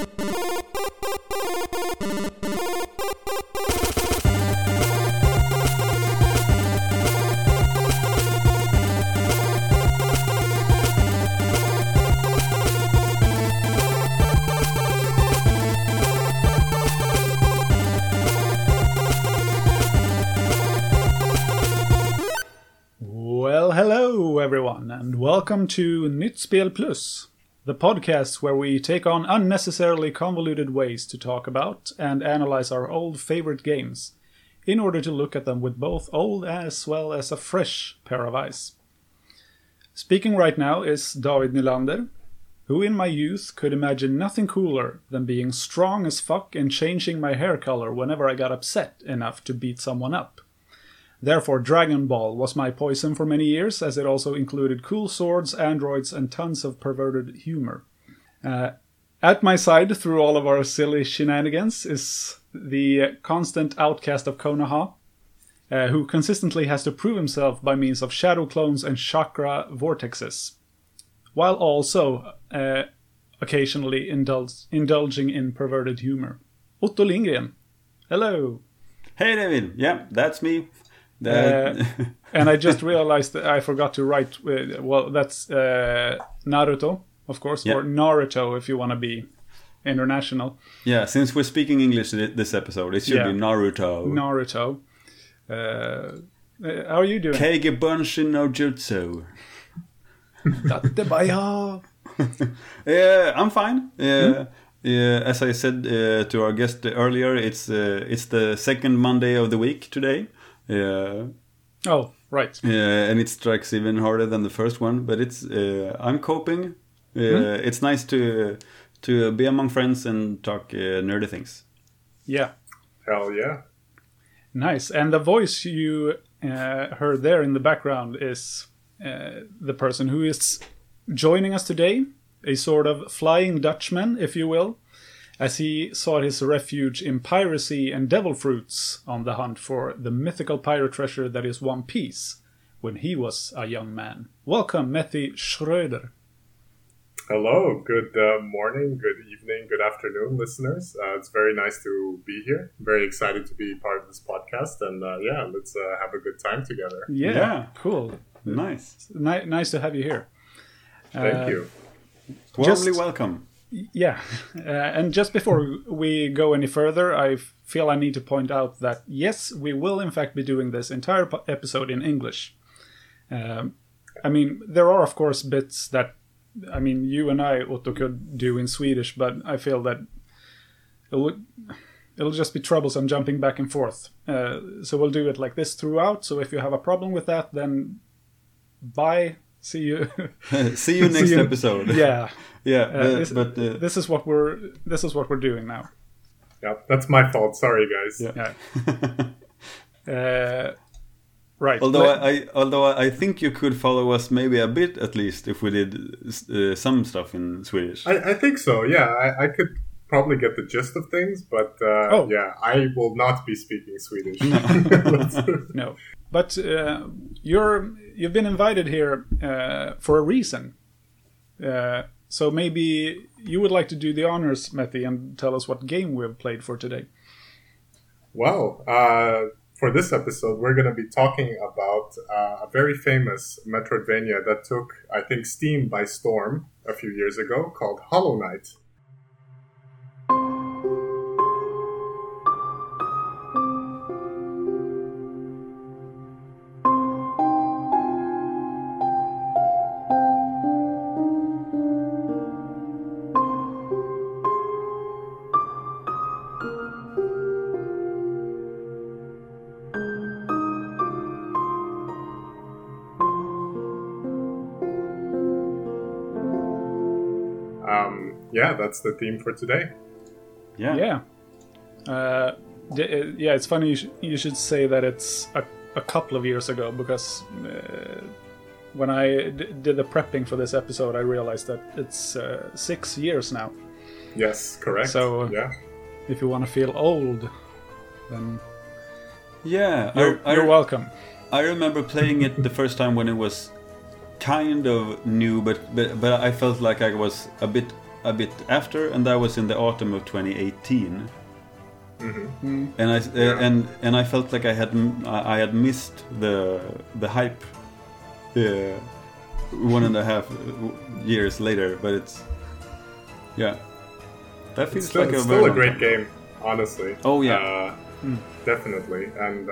And welcome to Nytt Spel Plus, the podcast where we take on unnecessarily convoluted ways to talk about and analyze our old favorite games, in order to look at them with both old as well as a fresh pair of eyes. Speaking right now is David Nylander, who in my youth could imagine nothing cooler than being strong as fuck and changing my hair color whenever I got upset enough to beat someone up. Therefore, Dragon Ball was my poison for many years, as it also included cool swords, androids, and tons of perverted humor. At my side, through all of our silly shenanigans, is the constant outcast of Konoha, who consistently has to prove himself by means of shadow clones and chakra vortexes, while also occasionally indulging in perverted humor. Otto Lindgren. Hello. Hey, David. Yeah, that's me. And I just realized that I forgot to write. That's Naruto, of course, or Naruto if you want to be international. Yeah, since we're speaking English this episode, it should be Naruto. Naruto. How are you doing? Keige Bunshin no Jutsu. Dattebaya. Yeah, I'm fine. As I said to our guest earlier, it's the second Monday of the week today. Oh, right. And it strikes even harder than the first one, but it's I'm coping. It's nice to be among friends and talk nerdy things. Yeah. Hell yeah. Nice. And the voice you heard there in the background is the person who is joining us today, a sort of flying Dutchman, if you will, as he sought his refuge in piracy and devil fruits on the hunt for the mythical pirate treasure that is One Piece, when he was a young man. Welcome, Matthew Schröder. Hello, good morning, good evening, good afternoon, listeners. It's very nice to be here. I'm very excited to be part of this podcast, and let's have a good time together. Yeah, cool. Nice. Nice to have you here. Thank you. Warmly welcome. Yeah, and just before we go any further, I feel I need to point out that, yes, we will in fact be doing this entire episode in English. I mean, there are, of course, bits that, I mean, you and I, Otto, could do in Swedish, but I feel that it'll just be troublesome jumping back and forth. So we'll do it like this throughout, so if you have a problem with that, then bye. See you. See you next episode. Yeah, yeah. This is what we're doing now. Yeah, that's my fault. Sorry, guys. Yeah. Right. Although I think you could follow us maybe a bit at least if we did some stuff in Swedish. I think so. Yeah, I could probably get the gist of things, but I will not be speaking Swedish. No. But you've been invited here for a reason. So maybe you would like to do the honors, Matthew, and tell us what game we've played for today. Well, for this episode, we're going to be talking about a very famous Metroidvania that took, I think, Steam by storm a few years ago, called Hollow Knight. That's the theme for today. Yeah. It's funny you should say that it's a couple of years ago, because when I did the prepping for this episode, I realized that it's 6 years now. Yes, correct. So if you want to feel old, then you're welcome. I remember playing it the first time when it was kind of new, but I felt like I was a bit a bit after, and that was in the autumn of 2018. And I felt like I had missed the hype 1.5 years later, but it's that feels it's still a great game, honestly. Oh yeah, definitely. And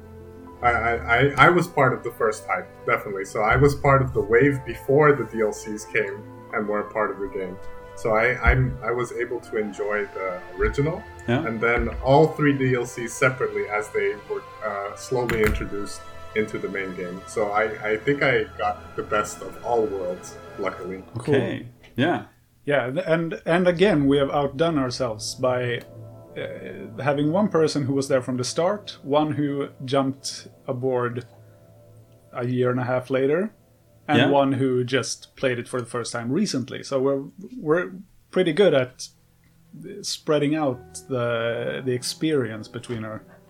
I was part of the first hype, definitely. So I was part of the wave before the DLCs came and were part of the game. So I was able to enjoy the original, and then all 3 DLCs separately as they were slowly introduced into the main game. So I think I got the best of all worlds, luckily. Okay, cool. Yeah, and again, we have outdone ourselves by having one person who was there from the start, one who jumped aboard a 1.5 years later, and one who just played it for the first time recently. So we're pretty good at spreading out the experience between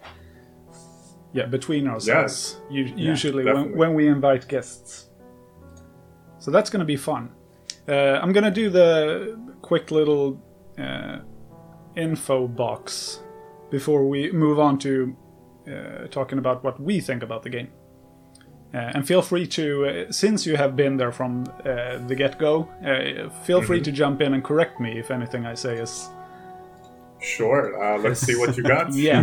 ourselves. Usually when we invite guests. So that's going to be fun. I'm going to do the quick little info box before we move on to talking about what we think about the game. And feel free to, since you have been there from the get-go, feel free to jump in and correct me if anything I say is... Sure, let's see what you got. Yeah.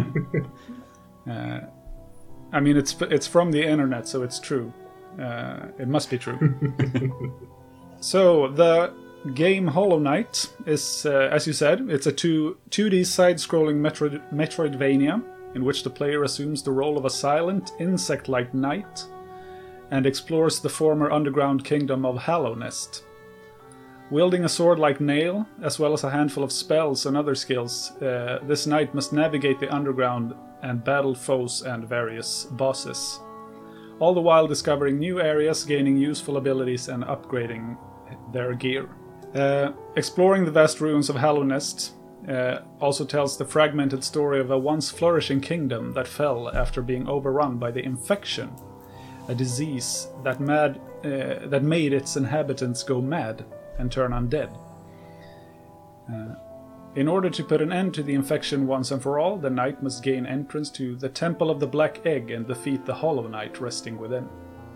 I mean, it's from the internet, so it's true. It must be true. So, the game Hollow Knight is, as you said, it's a 2D side-scrolling Metroidvania in which the player assumes the role of a silent, insect-like knight and explores the former underground kingdom of Hallownest. Wielding a sword like Nail, as well as a handful of spells and other skills, this knight must navigate the underground and battle foes and various bosses, all the while discovering new areas, gaining useful abilities, and upgrading their gear. Exploring the vast ruins of Hallownest also tells the fragmented story of a once flourishing kingdom that fell after being overrun by the Infection, a disease that made its inhabitants go mad and turn undead. In order to put an end to the Infection once and for all, the knight must gain entrance to the Temple of the Black Egg and defeat the Hollow Knight resting within.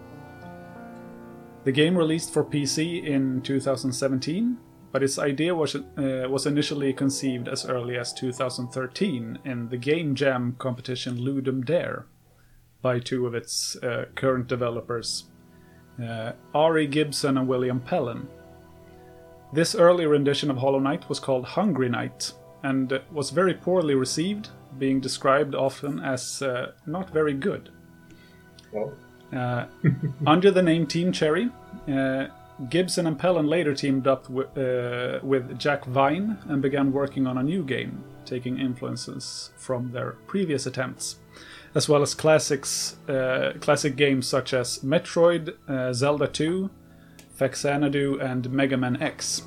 The game released for PC in 2017, but its idea was initially conceived as early as 2013 in the Game Jam competition Ludum Dare by 2 of its current developers, Ari Gibson and William Pellen. This early rendition of Hollow Knight was called Hungry Knight and was very poorly received, being described often as not very good. Well. Under the name Team Cherry, Gibson and Pellen later teamed up with Jack Vine and began working on a new game, taking influences from their previous attempts, as well as classic games such as Metroid, Zelda 2, Faxanadu, and Mega Man X.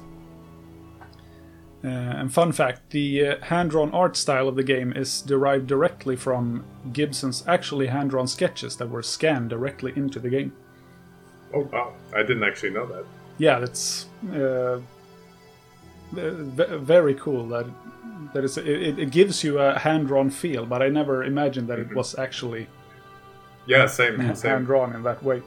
And fun fact, the hand-drawn art style of the game is derived directly from Gibson's actually hand-drawn sketches that were scanned directly into the game. Oh wow, I didn't actually know that. Yeah, that's very cool. That is, it gives you a hand-drawn feel, but I never imagined that it was actually same. hand-drawn in that way.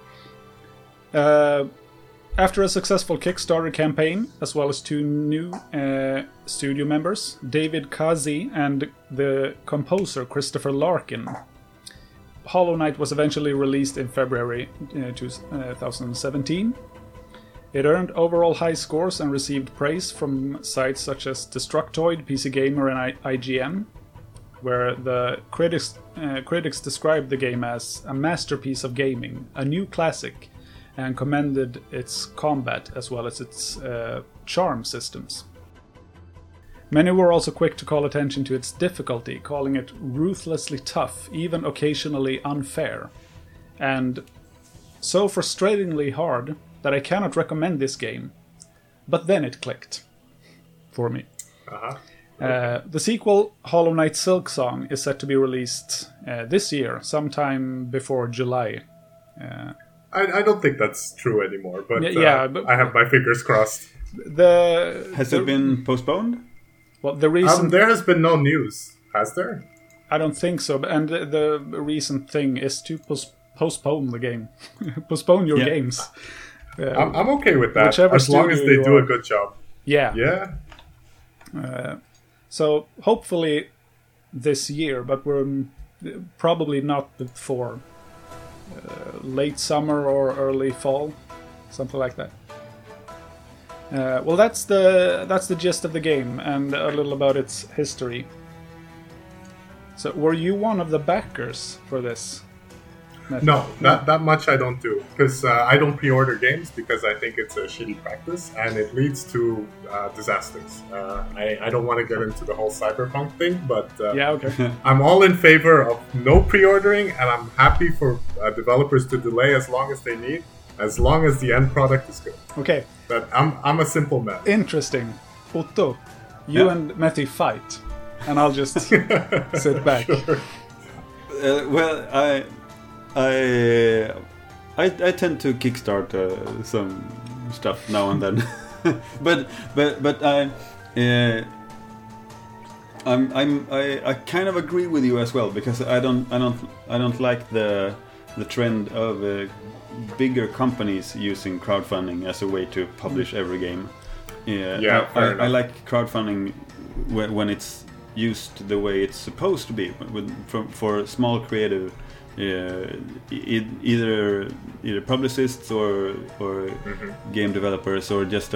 After a successful Kickstarter campaign, as well as 2 new studio members, David Kazi and the composer Christopher Larkin, Hollow Knight was eventually released in February 2017. It earned overall high scores and received praise from sites such as Destructoid, PC Gamer, and IGN, where the critics described the game as a masterpiece of gaming, a new classic, and commended its combat as well as its charm systems. Many were also quick to call attention to its difficulty, calling it ruthlessly tough, even occasionally unfair, and so frustratingly hard that I cannot recommend this game. But then it clicked. For me. The sequel, Hollow Knight Silksong, is set to be released this year, sometime before July. I don't think that's true anymore, but, but I have my fingers crossed. Has it been postponed? Well, the reason There has been no news, has there? I don't think so. And the recent thing is to postpone the game, postpone your games. I'm okay with that, Whichever as long as studio they do a good job. Yeah. Yeah. So hopefully this year, but we're probably not before late summer or early fall, something like that. Well, that's the gist of the game and a little about its history. So, were you one of the backers for this? No, that much I don't do, because I don't pre-order games because I think it's a shitty practice and it leads to disasters. I don't want to get into the whole cyberpunk thing, but Yeah, okay. I'm all in favor of no pre-ordering, and I'm happy for developers to delay as long as they need, as long as the end product is good. Okay, But I'm a simple man. interesting. Otto, you and Matti fight, and I'll just sit back. Well, I tend to kickstart some stuff now and then, but I kind of agree with you as well, because I don't like the trend of bigger companies using crowdfunding as a way to publish every game. Yeah, fair I enough. like crowdfunding when it's used the way it's supposed to be, for small creative. Either publicists or game developers, or just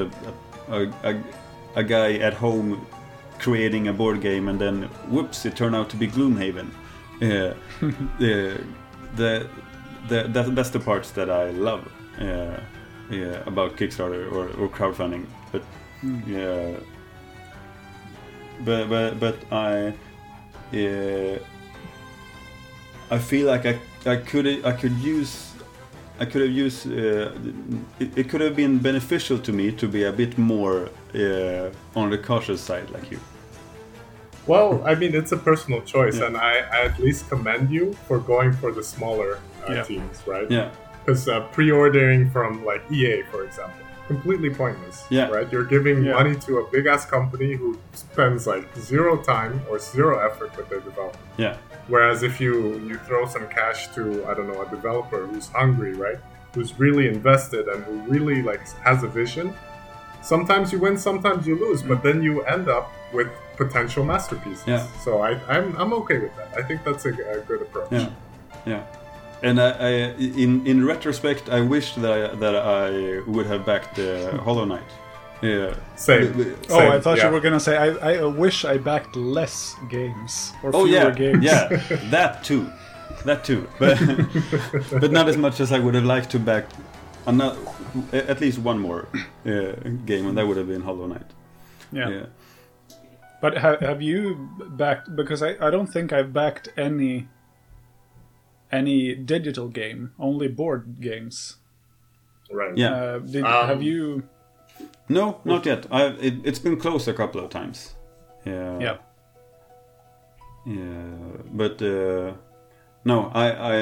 a guy at home creating a board game, and then whoops, it turned out to be Gloomhaven. That's the parts that I love about Kickstarter or crowdfunding. But I feel like I could have used it could have been beneficial to me to be a bit more on the cautious side, like you. Well, I mean, it's a personal choice, and I at least commend you for going for the smaller teams, right? Yeah. Because pre-ordering from like EA, for example, completely pointless, right? You're giving money to a big-ass company who spends like zero time or zero effort with their development. Yeah. Whereas if you throw some cash to, I don't know, a developer who's hungry, right? Who's really invested and who really like has a vision, sometimes you win, sometimes you lose, but then you end up with potential masterpieces. Yeah. So I'm okay with that. I think that's a good approach. Yeah. Yeah. And in retrospect, I wish that I would have backed Hollow Knight. Yeah. Same. I thought you were gonna say I wish I backed less games or fewer games. Yeah, that too, but not as much as I would have liked to back at least one more game, and that would have been Hollow Knight. Yeah. But have you backed? Because I don't think I've backed any digital game, only board games. Right. Yeah. Have you? No, not yet. It's been close a couple of times. Yeah. But no,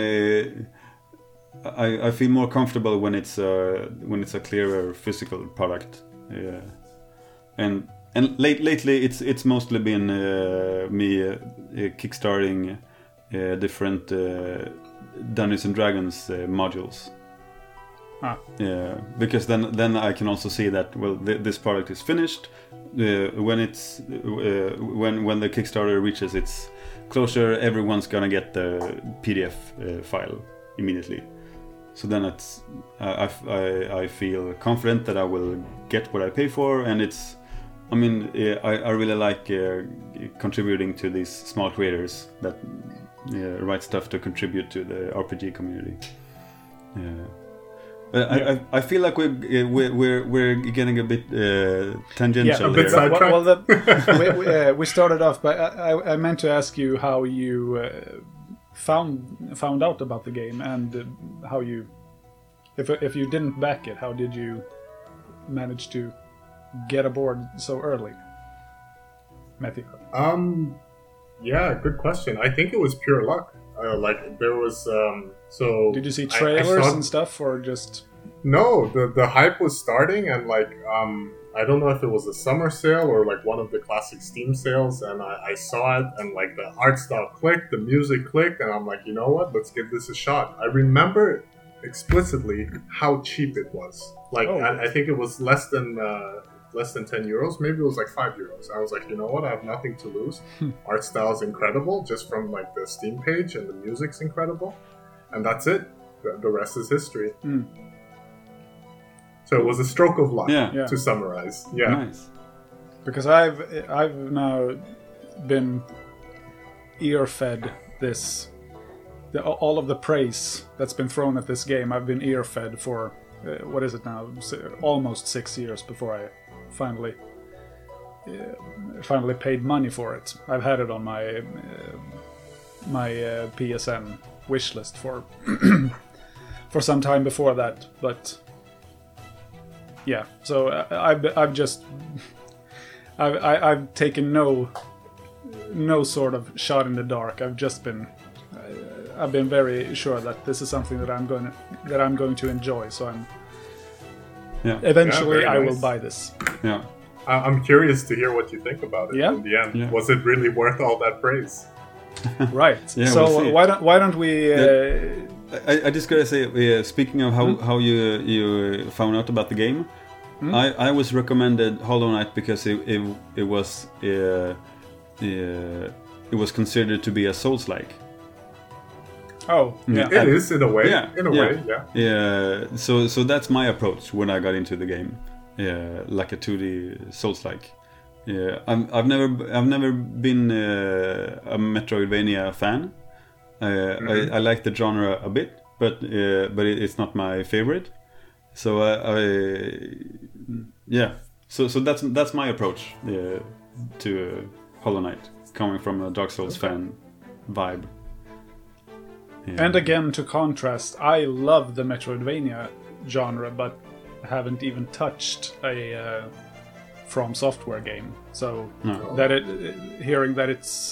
I feel more comfortable when it's a clearer physical product. Yeah. And lately it's mostly been me kickstarting different Dungeons and Dragons modules. Yeah, because then I can also see that this product is finished when it's when the Kickstarter reaches its closure. Everyone's gonna get the PDF file immediately. So then I feel confident that I will get what I pay for, and I really like contributing to these small creators that write stuff to contribute to the RPG community. I feel like we're getting a bit tangential. A bit sidetracked. We started off, but I meant to ask you how you found out about the game, and how you, if you didn't back it, how did you manage to get aboard so early, Matthew? Yeah, good question. I think it was pure luck. Like there was so. Did you see trailers and stuff, or just? No, the hype was starting, and I don't know if it was a summer sale or like one of the classic Steam sales, and I saw it, and like the art style clicked, the music clicked, and I'm like, you know what? Let's give this a shot. I remember explicitly how cheap it was. Like, I think it was less than 10 euros. Maybe it was like 5 euros. I was like, you know what? I have nothing to lose. Art style is incredible, just from like the Steam page, and the music's incredible, and that's it. The rest is history. So it was a stroke of luck, to summarize. Yeah, Nice. Because I've now been ear-fed all of the praise that's been thrown at this game. I've been ear-fed for what is it now? Almost 6 years before I finally paid money for it. I've had it on my PSN wishlist for for some time before that, but yeah. So I've taken no sort of shot in the dark. I've been very sure that this is something that I'm going to enjoy. So eventually I will buy this. Yeah. I'm curious to hear what you think about it in the end. Yeah. Was it really worth all that praise? Right. Yeah, so we'll see. why don't we? I just gotta say, speaking of how you found out about the game, I was recommended Hollow Knight because it was considered to be a Souls-like. Oh, yeah. It is in a way. Yeah, In a way, yeah. Yeah. So that's my approach when I got into the game. Yeah, like a 2D Souls-like. Yeah, I've never been a Metroidvania fan. I like the genre a bit, but it's not my favorite. So So that's my approach to Hollow Knight, coming from a Dark Souls fan vibe. Yeah. And again, to contrast, I love the Metroidvania genre, but haven't even touched a From Software game. So hearing that it's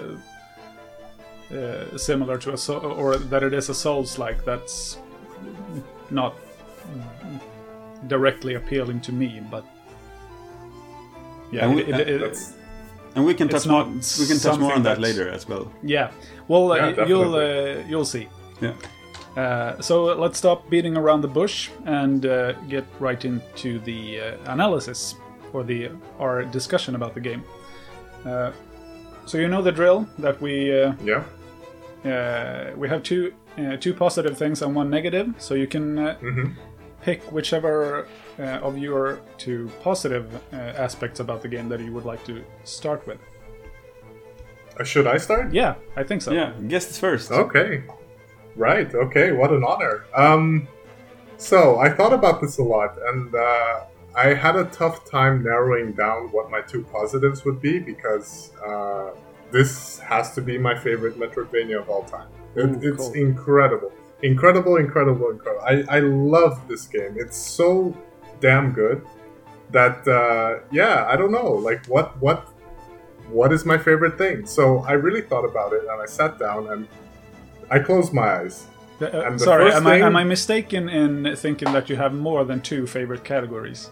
similar to or that it is a Souls-like, that's not directly appealing to me. But yeah, and we can touch more. not We can touch more on that something later as well. yeah. Well, definitely. you'll see. Yeah. So let's stop beating around the bush and get right into the analysis or our discussion about the game. So you know the drill that we have two positive things and one negative. So you can pick whichever of your two positive aspects about the game that you would like to start with. Should I start? Yeah, I think so. Yeah, guests first. Okay. Right, okay, what an honor. So, I thought about this a lot, and I had a tough time narrowing down what my two positives would be, because this has to be my favorite Metroidvania of all time. It's cool. incredible. Incredible. I love this game. It's so damn good that, I don't know, like, what is my favorite thing? So I really thought about it, and I sat down and I closed my eyes. And Sorry, am I mistaken in thinking that you have more than two favorite categories?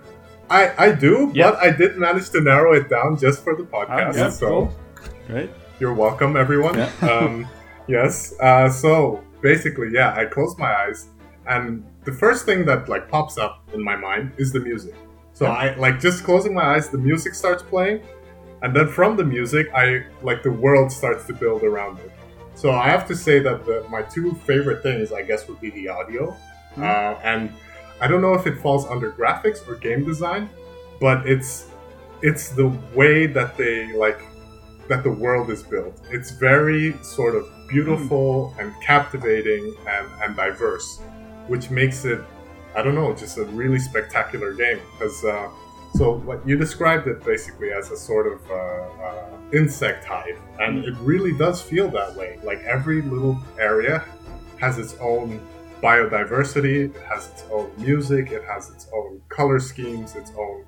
I do, but I did manage to narrow it down just for the podcast. So cool. Right. You're welcome, everyone. Yeah. Yes. So basically, I closed my eyes, and the first thing that like pops up in my mind is the music. So I like just closing my eyes, the music starts playing. And then from the music, the world starts to build around it. So I have to say that my two favorite things, I guess, would be the audio. And I don't know if it falls under graphics or game design, but it's the way that that the world is built. It's very sort of beautiful and captivating and diverse, which makes it, I don't know, just a really spectacular game. Because so what you described it basically as a sort of insect hive, and it really does feel that way. Like every little area has its own biodiversity, it has its own music, it has its own color schemes, its own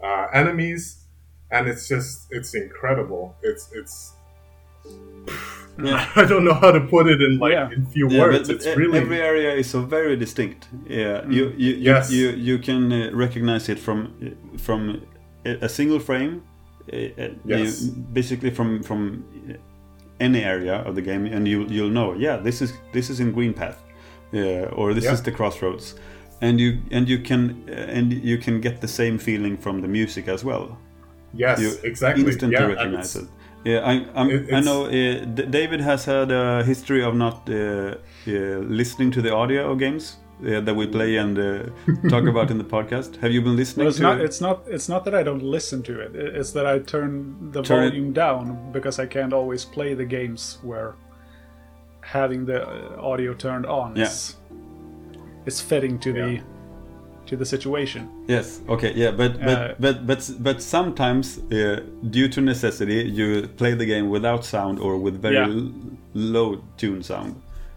enemies, and it's incredible. It's I don't know how to put it in in few words. But it's really every area is so very distinct. Yeah, you can recognize it from a single frame. Basically from any area of the game, and you'll know. Yeah, this is in Green Path, or this is the Crossroads, and you can get the same feeling from the music as well. Yes, you exactly. Instantly recognize it. Yeah, I know David has had a history of not listening to the audio of games that we play and talk about in the podcast. Have you been listening It's not that I don't listen to it. It's that I turn the volume down because I can't always play the games where having the audio turned on is fitting to the situation. Yes. Okay. Yeah. But sometimes, due to necessity, you play the game without sound or with very low tune sound.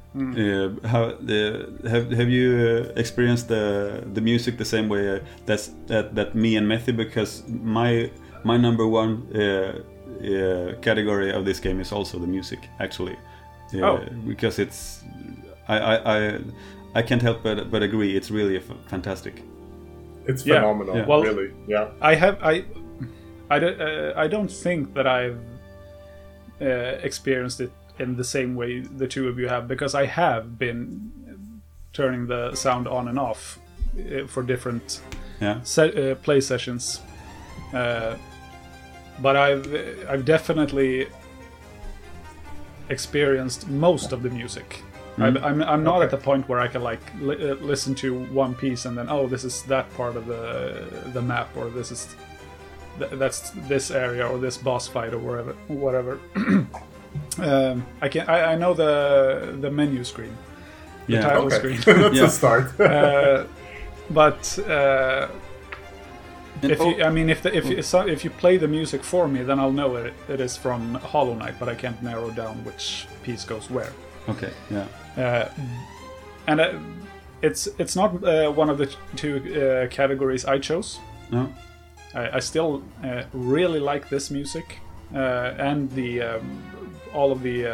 Have you experienced the music the same way that me and Matthew? Because my number one category of this game is also the music, actually. Because it's I can't help but agree. It's really fantastic. It's phenomenal. Yeah. Well, really. Yeah. I don't think that I've experienced it in the same way the two of you have, because I have been turning the sound on and off for different play sessions. But I've definitely experienced most of the music. I'm not at the point where I can listen to one piece and then this is that part of the map, or that's this area or this boss fight or whatever. I know the menu screen, the title screen. That's a start. But if you play the music for me, then I'll know it is from Hollow Knight, but I can't narrow down which piece goes where. Okay. Yeah. And it's not one of the two categories I chose. No. I still really like this music and the all of the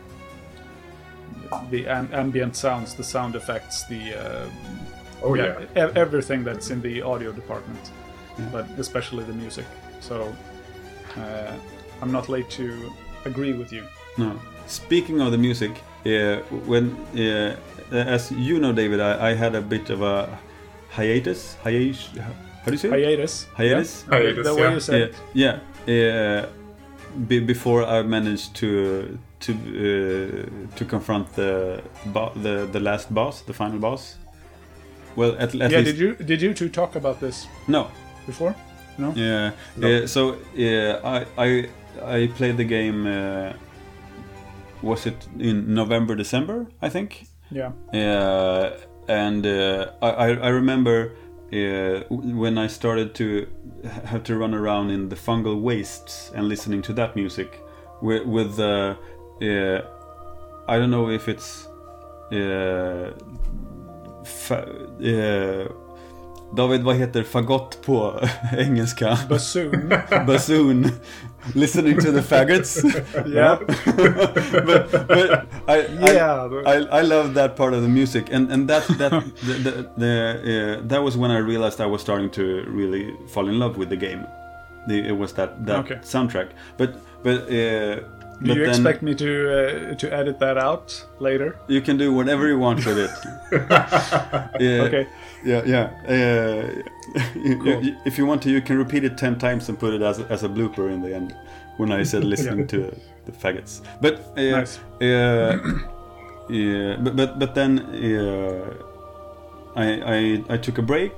ambient sounds, the sound effects, everything that's in the audio department, but especially the music. So I'm not late to agree with you. No. Speaking of the music, when as you know, David, I had a bit of a hiatus. How do you say it? Hiatus. Hiatus. Yeah. Hiatus. The way you said it. Before I managed to confront the last boss, the final boss. Well, at least. Did you two talk about this? No. Before? No. Yeah. No. So I played the game. Was it in November, December? I think. Yeah. And I remember. When I started to have to run around in the fungal wastes and listening to that music with I don't know if it's David, vad heter fagott på engelska? Bassoon. Bassoon. Listening to the faggots. Yeah. but I love that part of the music, and that was when I realized I was starting to really fall in love with the game. It was that soundtrack. But do you expect me to edit that out later? You can do whatever you want with it. Okay. Yeah. If you want to, you can repeat it 10 times and put it as a blooper in the end when I said listening to the faggots. But nice. But then I took a break.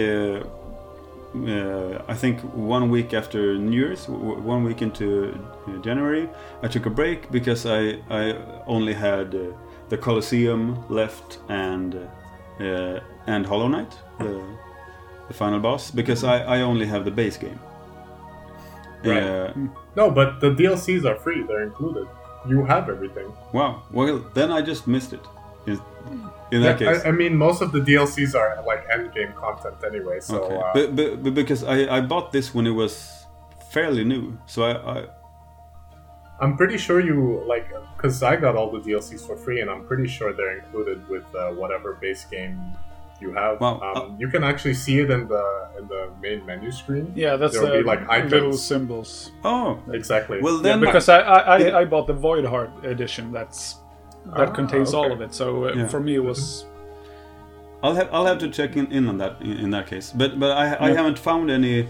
I think 1 week after New Year's, 1 week into January, I took a break because I only had the Colosseum left and Hollow Knight, the final boss, because I only have the base game. Right. No, but the DLCs are free; they're included. You have everything. Wow. Well, then I just missed it. In that case, I mean, most of the DLCs are like end game content anyway. So, okay. But because I bought this when it was fairly new, so I'm pretty sure you because I got all the DLCs for free, and I'm pretty sure they're included with whatever base game you have. Wow. You can actually see it in the main menu screen. Yeah, that's There'll be, the icons. little symbols. Oh, Exactly. well then. Because I bought the Void Heart edition. That contains all okay. of it. So Yeah. for me, it was. I'll have to check in on that in that case. But I haven't found any.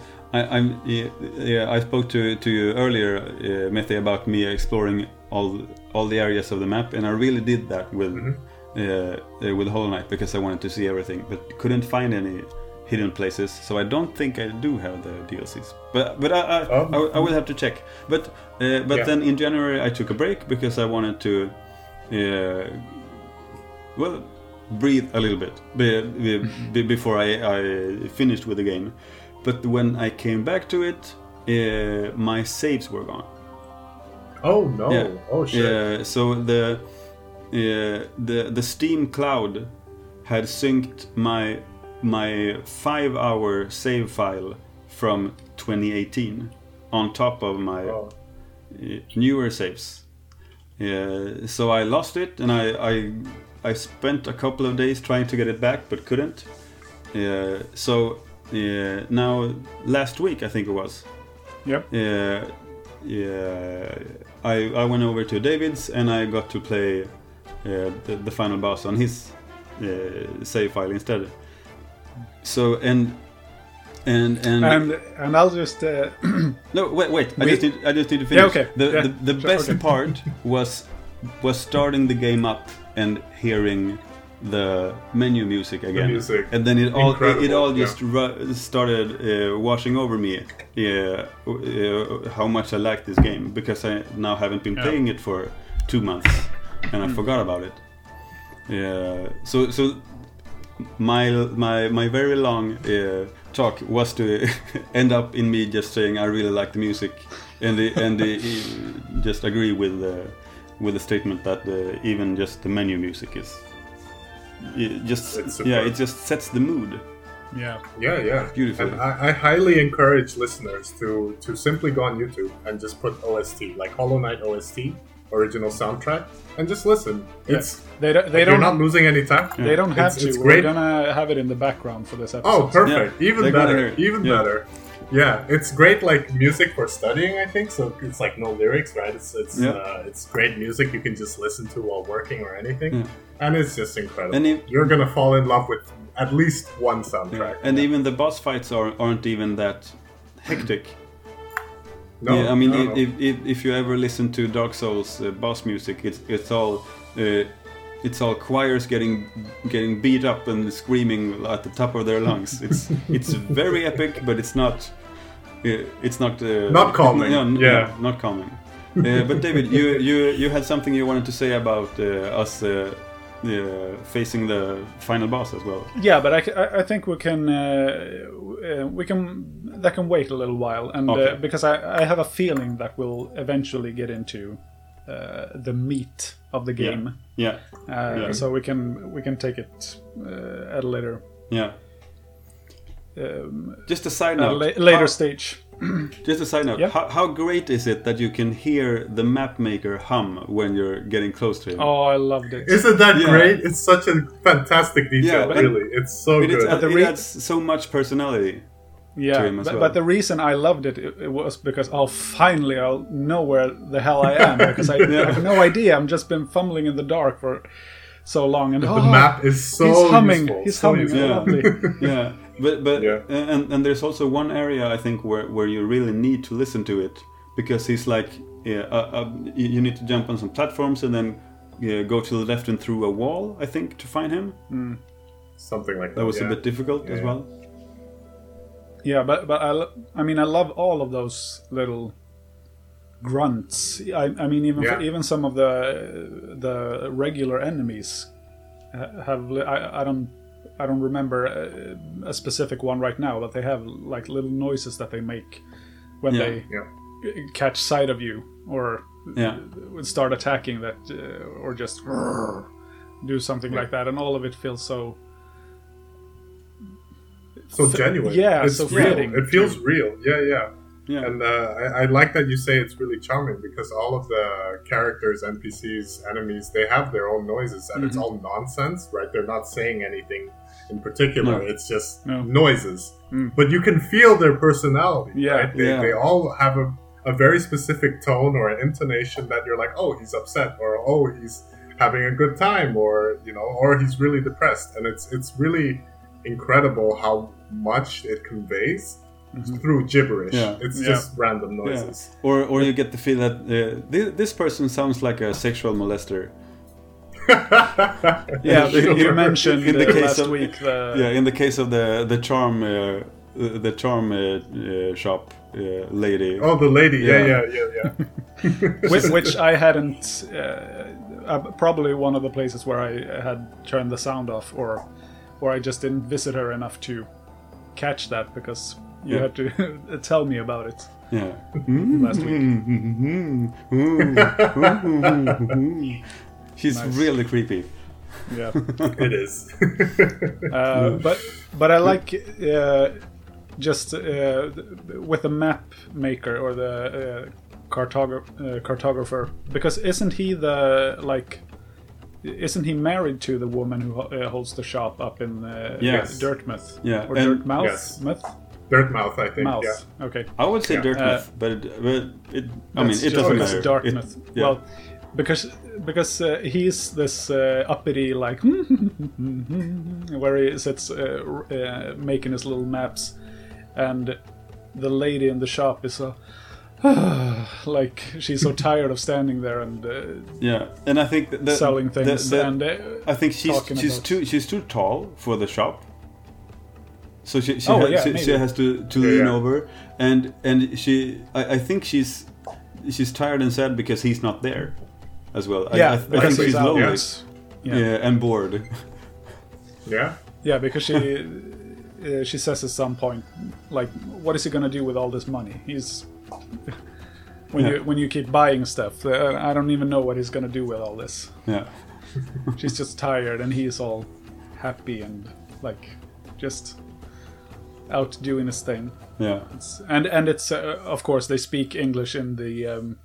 I spoke to you earlier, Mete, about me exploring all the areas of the map, and I really did that with Hollow Knight because I wanted to see everything, but couldn't find any hidden places. So I don't think I do have the DLCs. But I will have to check. But then in January I took a break because I wanted to breathe a little bit before I finished with the game. But when I came back to it, my saves were gone. Oh no! Yeah. Oh shit! So the Steam cloud had synced my 5-hour save file from 2018 on top of my newer saves. So I lost it, and I spent a couple of days trying to get it back, but couldn't. Now last week I think it was. Yep. I went over to David's and I got to play the final boss on his save file instead. So and I'll just no wait. I just need to finish. Yeah, okay. The best part was starting the game up and hearing the menu music again, and then it all just started washing over me. How much I like this game, because I now haven't been playing it for 2 months, and I forgot about it. So my very long talk was to end up in me just saying I really like the music, and just agree with the statement that even just the menu music is. It just sets the mood. Yeah. Beautiful. And I highly encourage listeners to simply go on YouTube and just put OST, like Hollow Knight OST, original soundtrack, and just listen. It's you're not losing any time. They don't have to. It's We're great. gonna have it in the background for this episode. Oh, perfect! Yeah, Even better. Better. Yeah, it's great, like music for studying, I think. So it's like no lyrics, right? It's great music you can just listen to while working or anything, and it's just incredible. And you're gonna fall in love with at least one soundtrack. And even the boss fights aren't even that hectic. No, I mean, no. if you ever listen to Dark Souls boss music, it's all choirs getting beat up and screaming at the top of their lungs. It's very epic, but it's not not calming. Not calming. But David, you had something you wanted to say about us facing the final boss as well. Yeah, but I think we can that can wait a little while, and because I have a feeling that we'll eventually get into the meat of the game. So we can take it at a later. Yeah. Just a side note. Later stage. Just a side note. Yep. How great is it that you can hear the map maker hum when you're getting close to him? Oh, I loved it. Isn't that great? It's such a fantastic detail, really. It's so good. It adds so much personality to him as well. But the reason I loved it was because, finally I'll know where the hell I am, because I have no idea. I've just been fumbling in the dark for so long. And the map is so he's humming. useful. He's humming. Lovely. Yeah. But and there's also one area I think where you really need to listen to it, because he's like you need to jump on some platforms and then go to the left and through a wall, I think, to find him. Something like that. That was a bit difficult as well. Yeah, but I mean I love all of those little grunts. I mean even some of the regular enemies have I don't remember a specific one right now, but they have like little noises that they make when they catch sight of you or start attacking that or just do something like that, and all of it feels so genuine. Yeah, it's so real. fitting. It feels real. Yeah. Yeah. And I like that you say it's really charming because all of the characters, NPCs, enemies, they have their own noises and it's all nonsense, right? They're not saying anything in particular. No. It's just No. noises. But you can feel their personality, Yeah. right? They all have a very specific tone or an intonation that you're like, oh, he's upset, or oh, he's having a good time, or or he's really depressed. And it's really incredible how much it conveys through gibberish. Yeah. It's Yeah. just random Yeah. noises. Or you get the feel that this person sounds like a sexual molester. Yeah, Sure. you mentioned In the case last of- week the Yeah, in the case of the charm shop lady. Oh, the lady. Yeah. Yeah. which I hadn't. Probably one of the places where I had turned the sound off, or I just didn't visit her enough to catch that because you Yeah. had to tell me about it Yeah. last week. She's Nice. really creepy. Yeah, It is. but I like just with the map maker or the cartographer, because isn't he married to the woman who holds the shop up in Yes. Dirtmouth? Yeah, Or and- Dirtmouth? Yes. Myth? Dirtmouth, I think. Mouth. Yeah. Okay. I would say Yeah. Dartmouth, but it I mean That's it just- doesn't it's matter. Dartmouth. Yeah. Well, because he's this uppity like where he sits making his little maps, and the lady in the shop is so like she's so tired of standing there and yeah, and I think that selling things and I think talking about- she's too tall for the shop. So she Oh, has, yeah, she maybe. has to lean yeah. over, and I think she's tired and sad because he's not there as well. yeah, I because think he's she's out. lonely. yes. Yeah. And bored. Yeah. Yeah, because she says at some point, like, what is he gonna do with all this money? He's when you keep buying stuff, I don't even know what he's gonna do with all this. Yeah. She's just tired, and he's all happy and like just out doing his thing. Yeah. And it's of course they speak English in the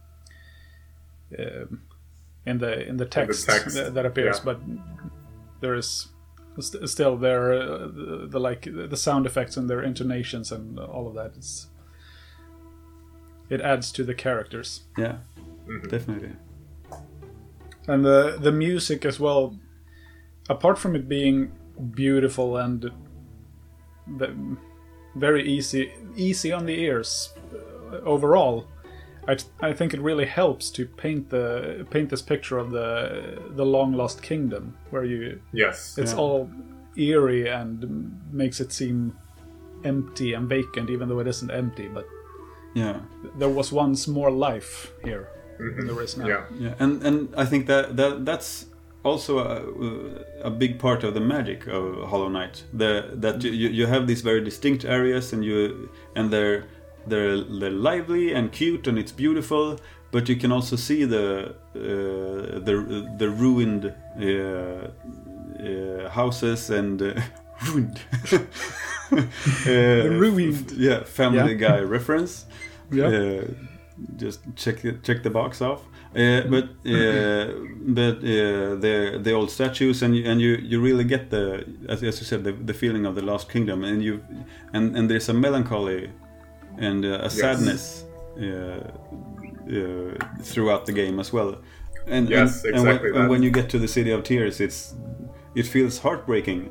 text, text, that appears, yeah. but there is still there the sound effects and their intonations and all of that. It adds to the characters. Yeah. Definitely. And the music as well, apart from it being beautiful and very easy on the ears overall, I think it really helps to paint this picture of the long lost kingdom, where Yes. it's Yeah. all eerie and makes it seem empty and vacant, even though it isn't empty. But Yeah. there was once more life here than there is now. Yeah. Yeah, and I think that's also a big part of the magic of Hollow Knight. That you have these very distinct areas, and they're lively and cute and it's beautiful, but you can also see the ruined houses and ruined. Ruined. Yeah, Family Yeah. Guy reference. Yeah. Just check the box off. But the old statues, and you really get as you said, the feeling of the Lost Kingdom, and there's a melancholy and a sadness throughout the game as well. And Yes, and exactly that. when you get to the City of Tears, it feels heartbreaking.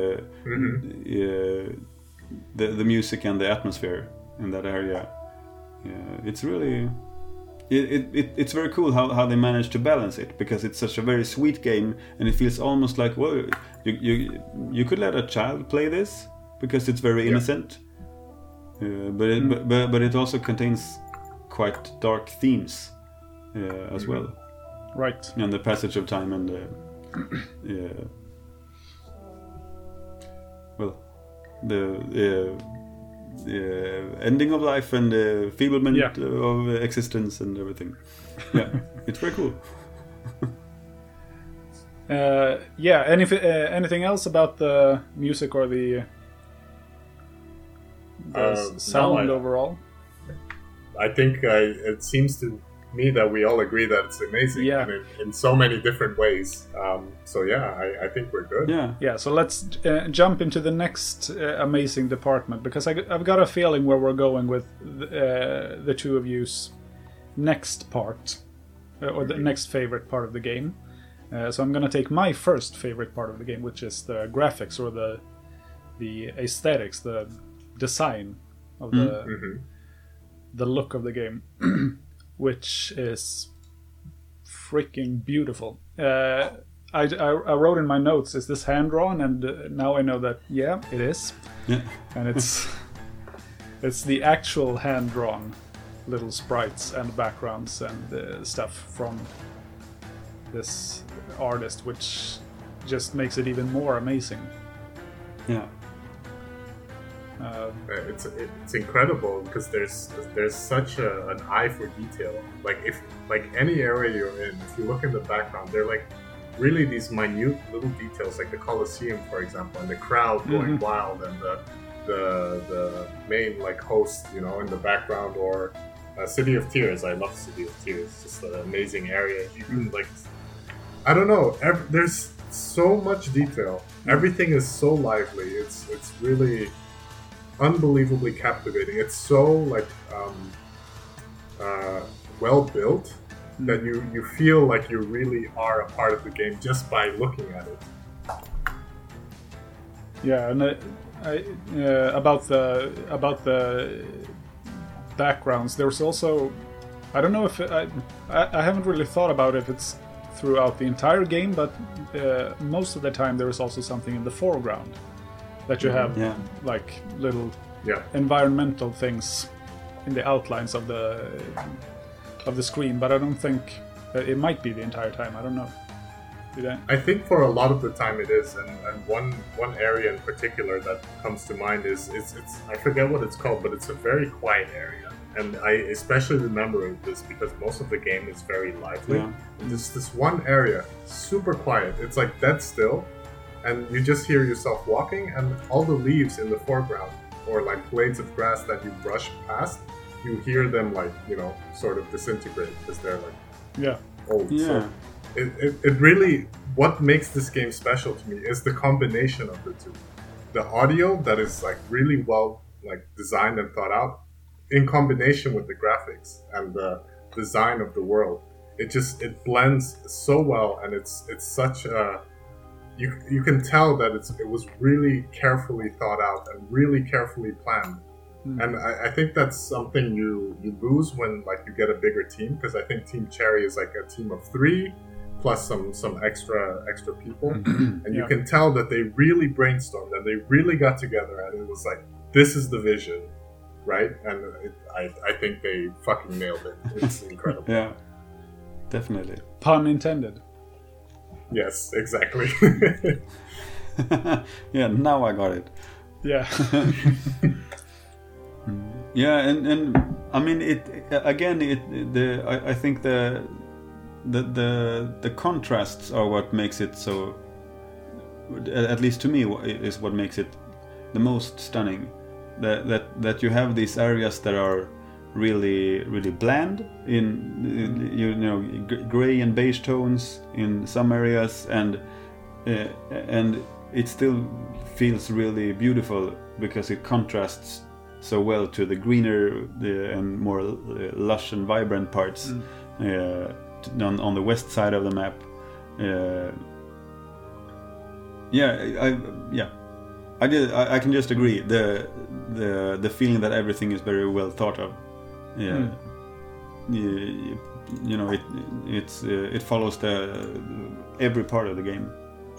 The music and the atmosphere in that area. It's really it's very cool how they manage to balance it, because it's such a very sweet game, and it feels almost like, well, you could let a child play this because it's very innocent, but it also contains quite dark themes as well, Right. and the passage of time and the ending of life and the feeblement of existence and everything. Yeah, it's very cool. Anything else about the music or the sound No, overall? I think it seems to me that we all agree that it's amazing, Yeah. and in so many different ways. So yeah, I think we're good. Yeah. So let's jump into the next amazing department, because I've got a feeling where we're going with the two of you's next part, or the next favorite part of the game. So I'm going to take my first favorite part of the game, which is the graphics, or the aesthetics, the design of the look of the game, which is freaking beautiful. I wrote in my notes, is this hand drawn? And now I know that it is. Yeah. And it's the actual hand drawn little sprites and backgrounds and stuff from this artist, which just makes it even more amazing. Yeah. It's incredible because there's such an eye for detail. Like any area you're in, if you look in the background, they're like really these minute little details, like the Colosseum, for example, and the crowd going wild, and the main like host, in the background, or City of Tears. I love City of Tears. It's just an amazing area. You can I don't know. There's so much detail. Everything is so lively. It's really unbelievably captivating. It's so well built that you feel like you really are a part of the game just by looking at it. Yeah, and about the backgrounds, there's also, I don't know if I haven't really thought about if it's throughout the entire game, but most of the time there is also something in the foreground that you have like little environmental things in the outlines of the screen, but I don't think it might be the entire time. I don't know. I think for a lot of the time it is, and one area in particular that comes to mind is it's I forget what it's called, but it's a very quiet area, and I especially remember this because most of the game is very lively. Yeah. There's this one area, super quiet. It's like dead still, and you just hear yourself walking, and all the leaves in the foreground, or like blades of grass that you brush past, you hear them sort of disintegrate because they're old. Yeah. So it really, what makes this game special to me is the combination of the two. The audio that is really well designed and thought out, in combination with the graphics and the design of the world. It blends so well, and it's such a, you can tell that it was really carefully thought out and really carefully planned. And I think that's something you lose when you get a bigger team, because I think Team Cherry is a team of 3 plus some extra people, and you can tell that they really brainstormed and they really got together, and it was this is the vision, right? And I think they fucking nailed it. It's incredible. Yeah, definitely. Pun intended. Yes, exactly. Yeah, now I got it. Yeah. Yeah, and I mean I think the contrasts are what makes it so, at least to me, is what makes it the most stunning. That you have these areas that are really really bland in gray and beige tones in some areas, and it still feels really beautiful because it contrasts so well to the greener and more lush and vibrant parts on the west side of the map. I can just agree. The feeling that everything is very well thought of. Yeah, it follows every part of the game.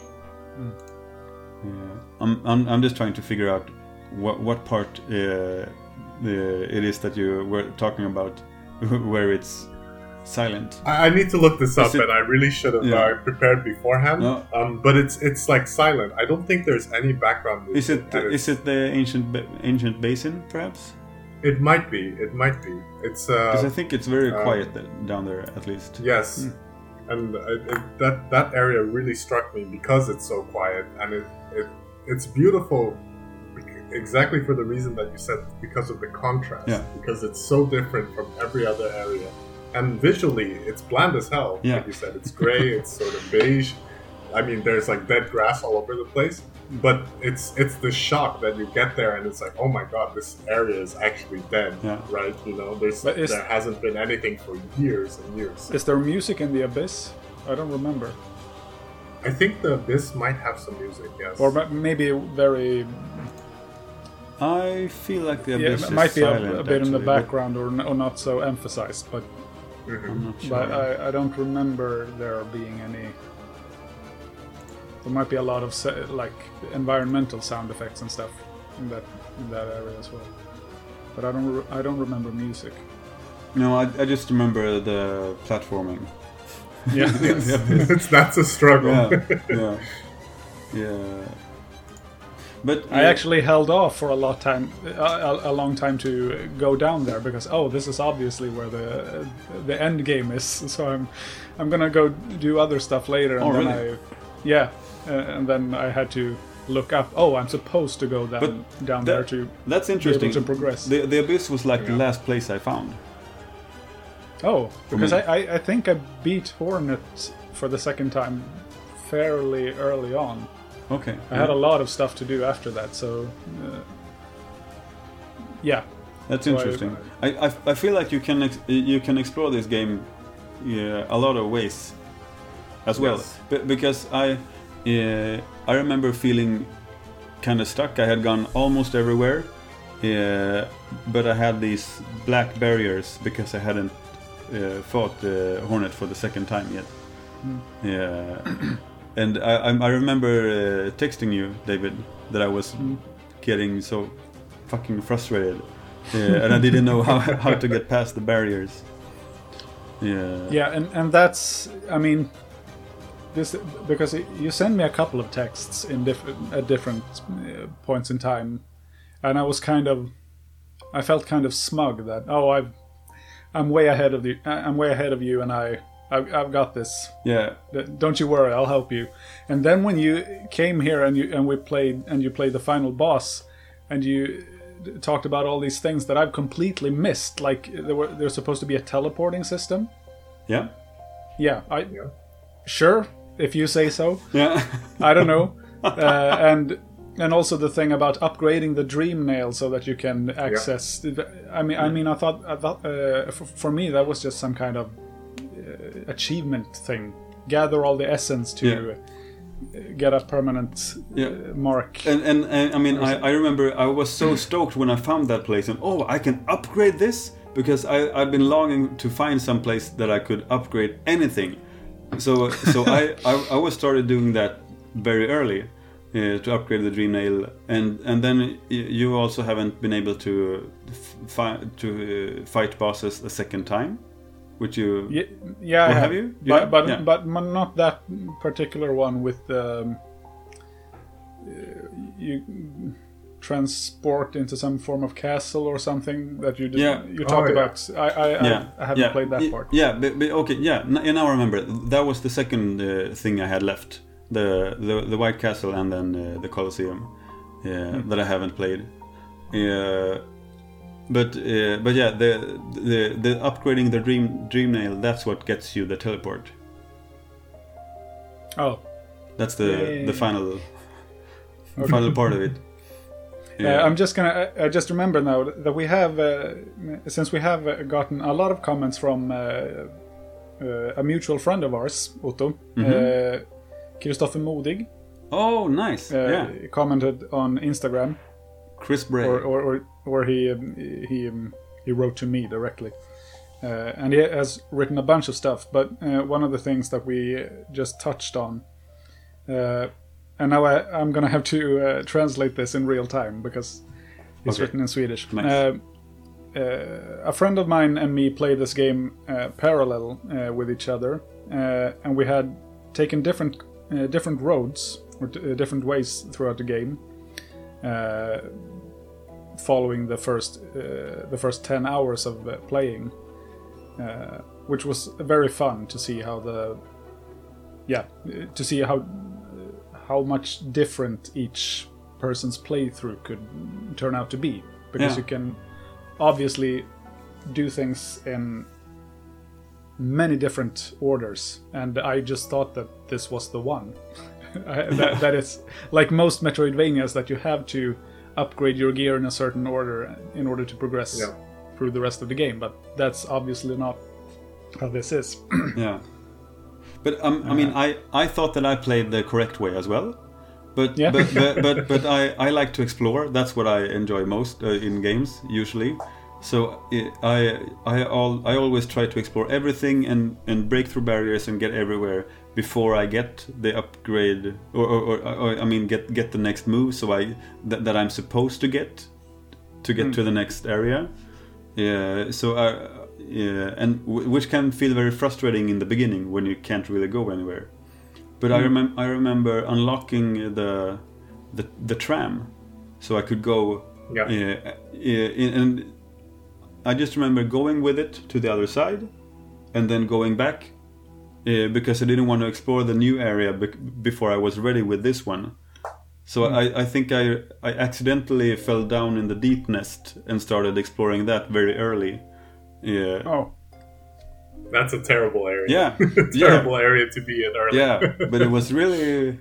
I'm just trying to figure out what part it is that you were talking about, where it's silent. I need to look this up, and I really should have prepared beforehand. No. But it's silent. I don't think there's any background music. Is it the ancient basin, perhaps? It might be. It's because I think it's very quiet down there, at least. Yes, and that area really struck me because it's so quiet, and it's beautiful. exactly for the reason that you said, because of the contrast. Yeah. Because it's so different from every other area. And visually, it's bland as hell. Yeah. Like you said, it's gray, it's sort of beige. I mean, there's like dead grass all over the place. But it's the shock that you get there, and it's like, oh my god, this area is actually dead, Yeah. right? You know, there hasn't been anything for years and years. Is there music in the Abyss? I don't remember. I think the Abyss might have some music, yes. Or maybe very... I feel like the Yeah, Abyss it might is be silent, a bit in the actually, but background or not so emphasized, but I'm not sure. but I don't remember there being any... There might be a lot of like environmental sound effects and stuff in that area as well. But I don't remember music. No, I just remember the platforming. Yeah. That's a struggle. Yeah. But I actually held off for a long time to go down there because this is obviously where the end game is. So I'm gonna go do other stuff later. And then really? And then I had to look up. I'm supposed to go down there to that's interesting. be able to progress. The Abyss was like the last place I found. Because I think I beat Hornet for the second time fairly early on. Okay. I had a lot of stuff to do after that, so yeah. That's interesting. I feel like you can explore this game a lot of ways as well. Yes. Because I remember feeling kind of stuck. I had gone almost everywhere, but I had these black barriers because I hadn't fought the Hornet for the second time yet. And I remember texting you, David, that I was getting so fucking frustrated, and I didn't know how to get past the barriers. Yeah, and that's, I mean, this because you send me a couple of texts at different points in time, and I felt kind of smug that I'm way ahead of you, and I've got this. Yeah. Don't you worry, I'll help you. And then when you came here and you played the final boss, and you talked about all these things that I've completely missed, like there's supposed to be a teleporting system. Yeah. Yeah. Sure, if you say so. Yeah. I don't know. And also the thing about upgrading the dream nail so that you can access. Yeah. I mean, I thought for me that was just some kind of achievement thing. Gather all the essence to get a permanent mark. And I mean, I remember I was so stoked when I found that place, and I can upgrade this because I've been longing to find some place that I could upgrade anything. So I was started doing that very early. To upgrade the dream nail, and then you also haven't been able to fight bosses a second time, which you have you? But not that particular one with you transport into some form of castle or something that you talked about. I haven't played that part. Yeah, but okay, now I remember. That was the second thing I had left. The White Castle and then the Colosseum that I haven't played. But the upgrading the dream nail, that's what gets you the teleport. That's the final part of it. I just remember now that we have since we have gotten a lot of comments from a mutual friend of ours, Otto. Kristoffer Modig. Oh, nice! Commented on Instagram. Chris Bray. Or he wrote to me directly, and he has written a bunch of stuff. But one of the things that we just touched on, and now I'm gonna have to translate this in real time because it's written in Swedish. Nice. A friend of mine and me played this game parallel with each other, and we had taken different roads or different ways throughout the game, following the first 10 hours of playing, which was very fun to see how much different each person's playthrough could turn out to be, because Yeah. you can obviously do things in many different orders, and I just thought that this was the one. that is like most Metroidvanias, that you have to upgrade your gear in a certain order in order to progress Yeah. through the rest of the game, but that's obviously not how this is. Yeah. But I mean, I thought that I played the correct way as well. But Yeah. but I like to explore. That's what I enjoy most in games usually. So I always try to explore everything and break through barriers and get everywhere before I get the upgrade or I mean get the next move. So that I'm supposed to get to the next area. Yeah. So and which can feel very frustrating in the beginning when you can't really go anywhere. But I remember unlocking the tram, so I could go. Yeah. And I just remember going with it to the other side, and then going back because I didn't want to explore the new area before I was ready with this one. So I think I accidentally fell down in the deep nest and started exploring that very early. Yeah. Oh, That's a terrible area. Yeah. Terrible area to be in early. Yeah, but it was really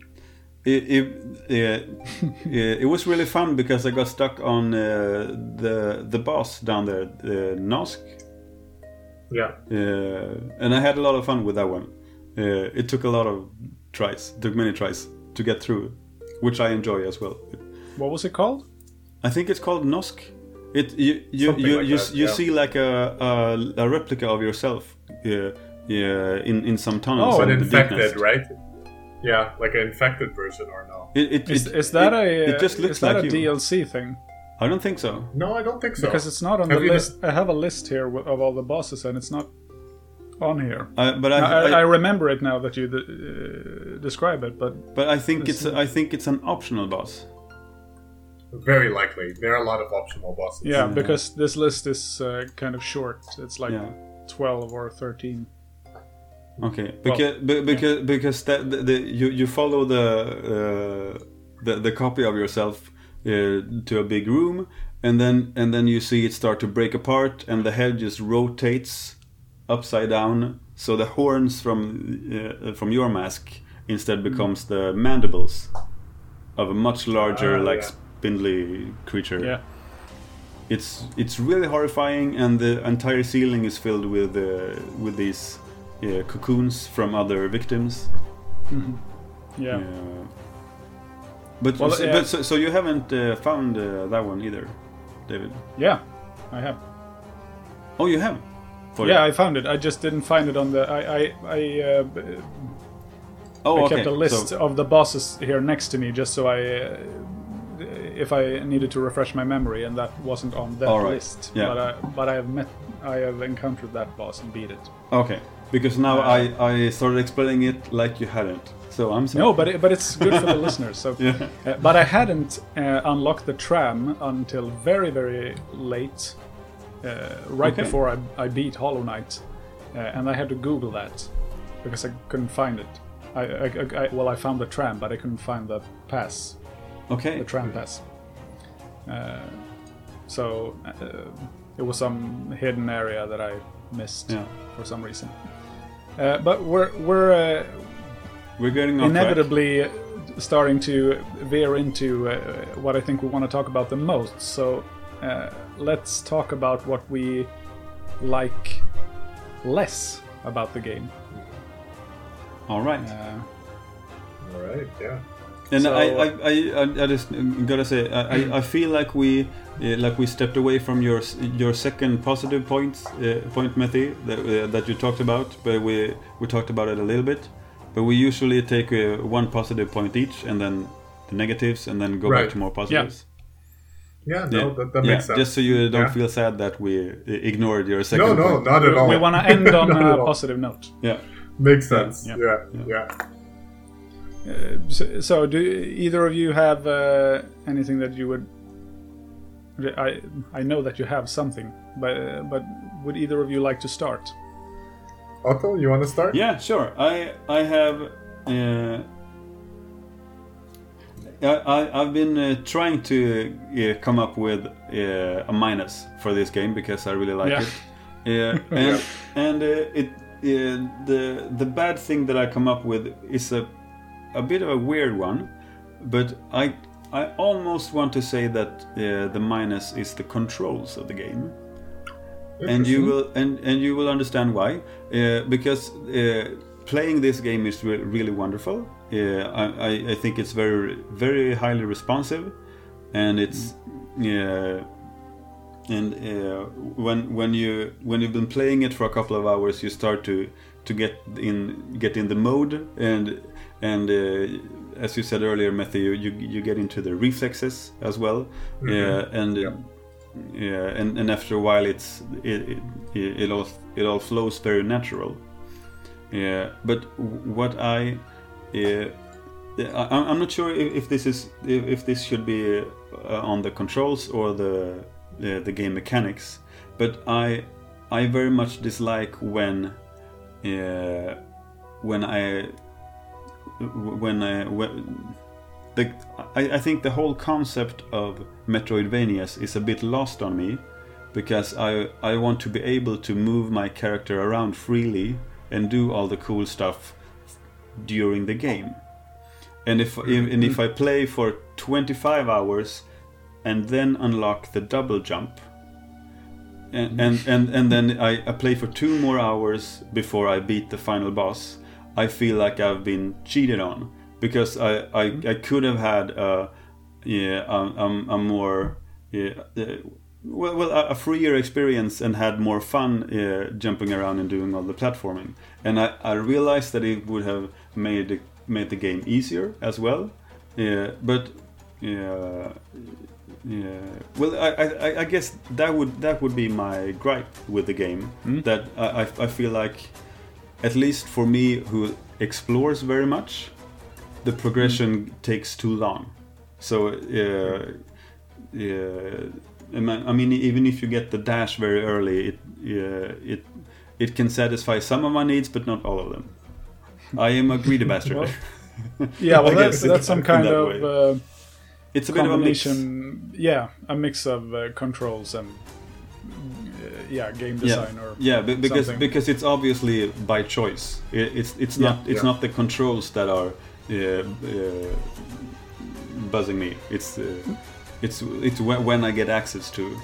it was really fun because I got stuck on the boss down there, Nosk, Yeah. and I had a lot of fun with that one. It took a lot of tries, took many tries to get through, which I enjoy as well. what was it called? I think it's called Nosk. You Something like that, yeah. see like a replica of yourself in some tunnels. But in the infected, deepness. right? Yeah, like an infected version or no? Is that it just looks is that like a you. DLC thing? I don't think so. No, I don't think so. Because it's not on Have the you list. I have a list here of all the bosses, and it's not on here. But I remember it now that you describe it, but I think it's an optional boss. Very likely. There are a lot of optional bosses. yeah, because this list is kind of short. It's like Yeah. 12 or 13. Okay, Well, because you follow the copy of yourself to a big room, and then you see it start to break apart, and the head just rotates upside down. So the horns from your mask instead becomes the mandibles of a much larger, yeah. spindly creature. Yeah. It's really horrifying, and the entire ceiling is filled with these cocoons from other victims. Yeah. But Well, so you haven't found that one either, David? Yeah, I have. Oh, you have. Yeah, I found it. I just didn't find it on the. I kept a list of the bosses here next to me, just so if I needed to refresh my memory, and that wasn't on that All right. list. Yeah. But I have encountered that boss and beat it. Okay, because now I started explaining it like you hadn't. So I'm sorry. No, but it's good for the listeners. So, Yeah. but I hadn't unlocked the tram until very, very late, right Okay. before I beat Hollow Knight, and I had to Google that because I couldn't find it. I found the tram, but I couldn't find the pass, Okay. the tram pass. So it was some hidden area that I missed Yeah. for some reason. But we're We're getting off track. inevitably starting to veer into what I think we want to talk about the most. So let's talk about what we like less about the game. All right. All right, yeah. And So- I just gotta say I feel like we stepped away from your second positive point, Matthew, that you talked about, but we talked about it a little bit. But we usually take one positive point each, and then the negatives, and then go back Right. to more positives. Yeah, no, that makes sense. Just so you don't Yeah. feel sad that we ignored your second No, point. not at all. We want to end on Not at a all. positive note. Yeah. Makes sense. Yeah. Yeah. So do either of you have anything that you would? I know that you have something, but would either of you like to start? Otto, you want to start? Yeah, sure. I have I've been trying to come up with a minus for this game because I really like it. The bad thing that I come up with is a bit of a weird one, but I almost want to say that the minus is the controls of the game. And you will understand why, because playing this game is really wonderful. I think it's very very highly responsive, and it's when you've been playing it for a couple of hours, you start to get in the mode, and as you said earlier, Matthew, you get into the reflexes as well, and after a while it all flows very natural. But what I'm not sure if this should be on the controls or the game mechanics, but I very much dislike when I think the whole concept of Metroidvanias is a bit lost on me, because I want to be able to move my character around freely and do all the cool stuff during the game. And if I play for 25 hours and then unlock the double jump, and then I play for 2 more hours before I beat the final boss, I feel like I've been cheated on, because I could have had a more a freer experience and had more fun jumping around and doing all the platforming. And I realized that it would have made the game easier as well. But I guess that would be my gripe with the game. That I feel like, at least for me, who explores very much, the progression takes too long. So I mean, even if you get the dash very early, it can satisfy some of my needs, but not all of them. I am a greedy bastard. Well, that's some kind of it's a bit of a mix. Yeah, a mix of controls and game design because it's obviously by choice. It's not the controls that are buzzing me. It's when I get access to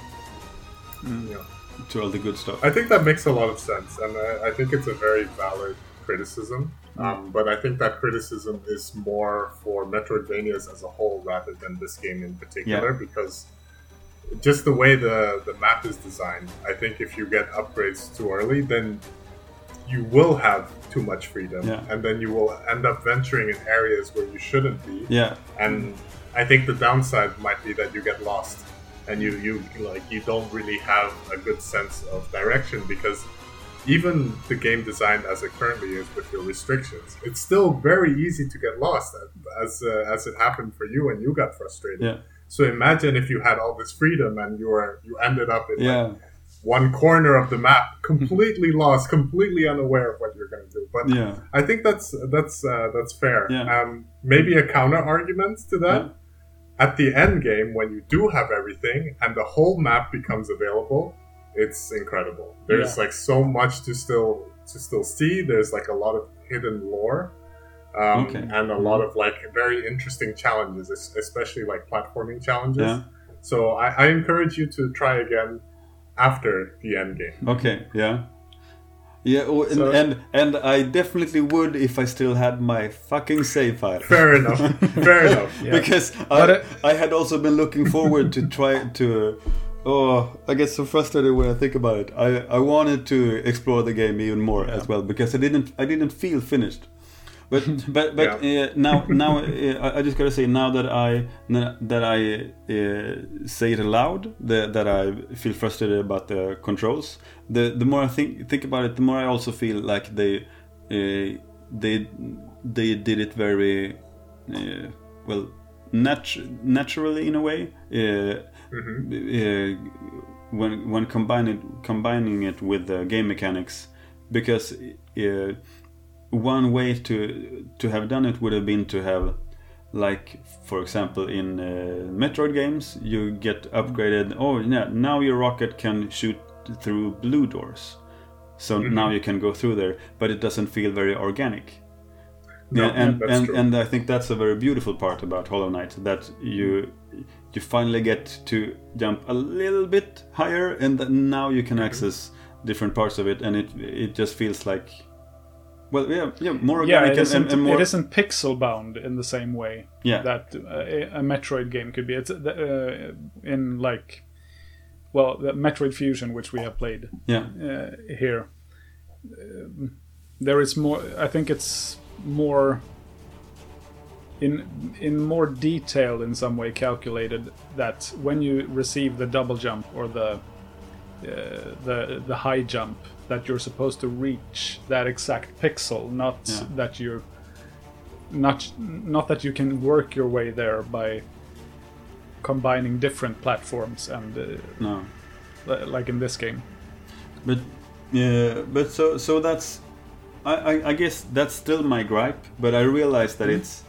all the good stuff. I think that makes a lot of sense, and I think it's a very valid criticism. But I think that criticism is more for Metroidvanias as a whole rather than this game in particular, because just the way the map is designed, I think if you get upgrades too early, then you will have too much freedom, and then you will end up venturing in areas where you shouldn't be. And I think the downside might be that you get lost, and you don't really have a good sense of direction, because even the game designed as it currently is with your restrictions, it's still very easy to get lost, as it happened for you and you got frustrated. So imagine if you had all this freedom and you ended up in one corner of the map, completely lost, completely unaware of what you're going to do. But I think that's fair. Maybe a counter argument to that. At the end game, when you do have everything and the whole map becomes available, it's incredible. There's so much to still see. There's a lot of hidden lore, and a lot of very interesting challenges, especially platforming challenges. So I encourage you to try again after the end game. And I definitely would if I still had my fucking save file. Fair enough. Because I had also been looking forward to try to. Oh, I get so frustrated when I think about it. I wanted to explore the game even more as well, because I didn't feel finished. But now I just gotta say, now that I say it aloud, that I feel frustrated about the controls. The more I think about it, the more I also feel like they did it very naturally in a way. When combining it with the game mechanics, because one way to have done it would have been to have like for example in Metroid games, you get upgraded. Oh yeah, now your rocket can shoot through blue doors, so now you can go through there, but it doesn't feel very organic. No, that's true. And I think that's a very beautiful part about Hollow Knight, that you finally get to jump a little bit higher, and now you can access different parts of it, and it just feels like, well, more organic. And more... it isn't pixel bound in the same way that a Metroid game could be. It's in like, well, the Metroid Fusion, which we have played here. There is more. I think it's more in more detail, in some way calculated, that when you receive the double jump or the high jump, that you're supposed to reach that exact pixel, not that you're not that you can work your way there by combining different platforms and like in this game. But so that's I guess that's still my gripe, but I realize that it's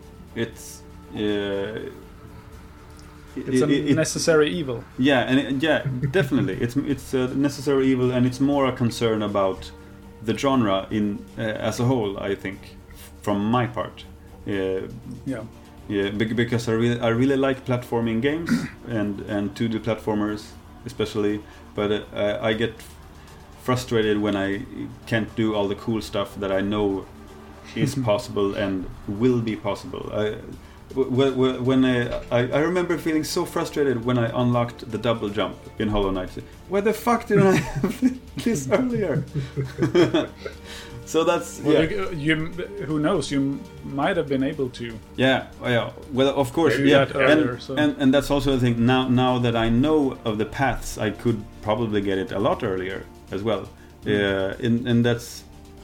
a necessary evil. Yeah, and definitely, it's a necessary evil, and it's more a concern about the genre in as a whole. I think, from my part, because I really like platforming games and 2D platformers especially, but I get frustrated when I can't do all the cool stuff that I know is possible and will be possible. I remember feeling so frustrated when I unlocked the double jump in Hollow Knight. Why the fuck didn't I have this earlier? So that's who knows? You might have been able to. Yeah. Well, of course. Earlier, and that's also the thing. Now that I know of the paths, I could probably get it a lot earlier as well. And that's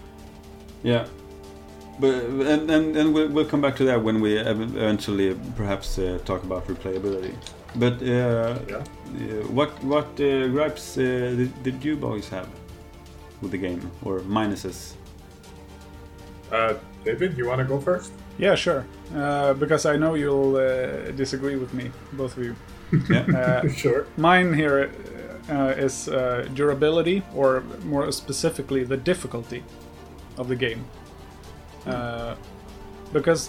But and we'll come back to that when we eventually perhaps talk about replayability. But what gripes did you boys have with the game, or minuses? David, you want to go first? Yeah, sure. Because I know you'll disagree with me, both of you. Yeah, sure. Mine here is durability, or more specifically, the difficulty of the game. Because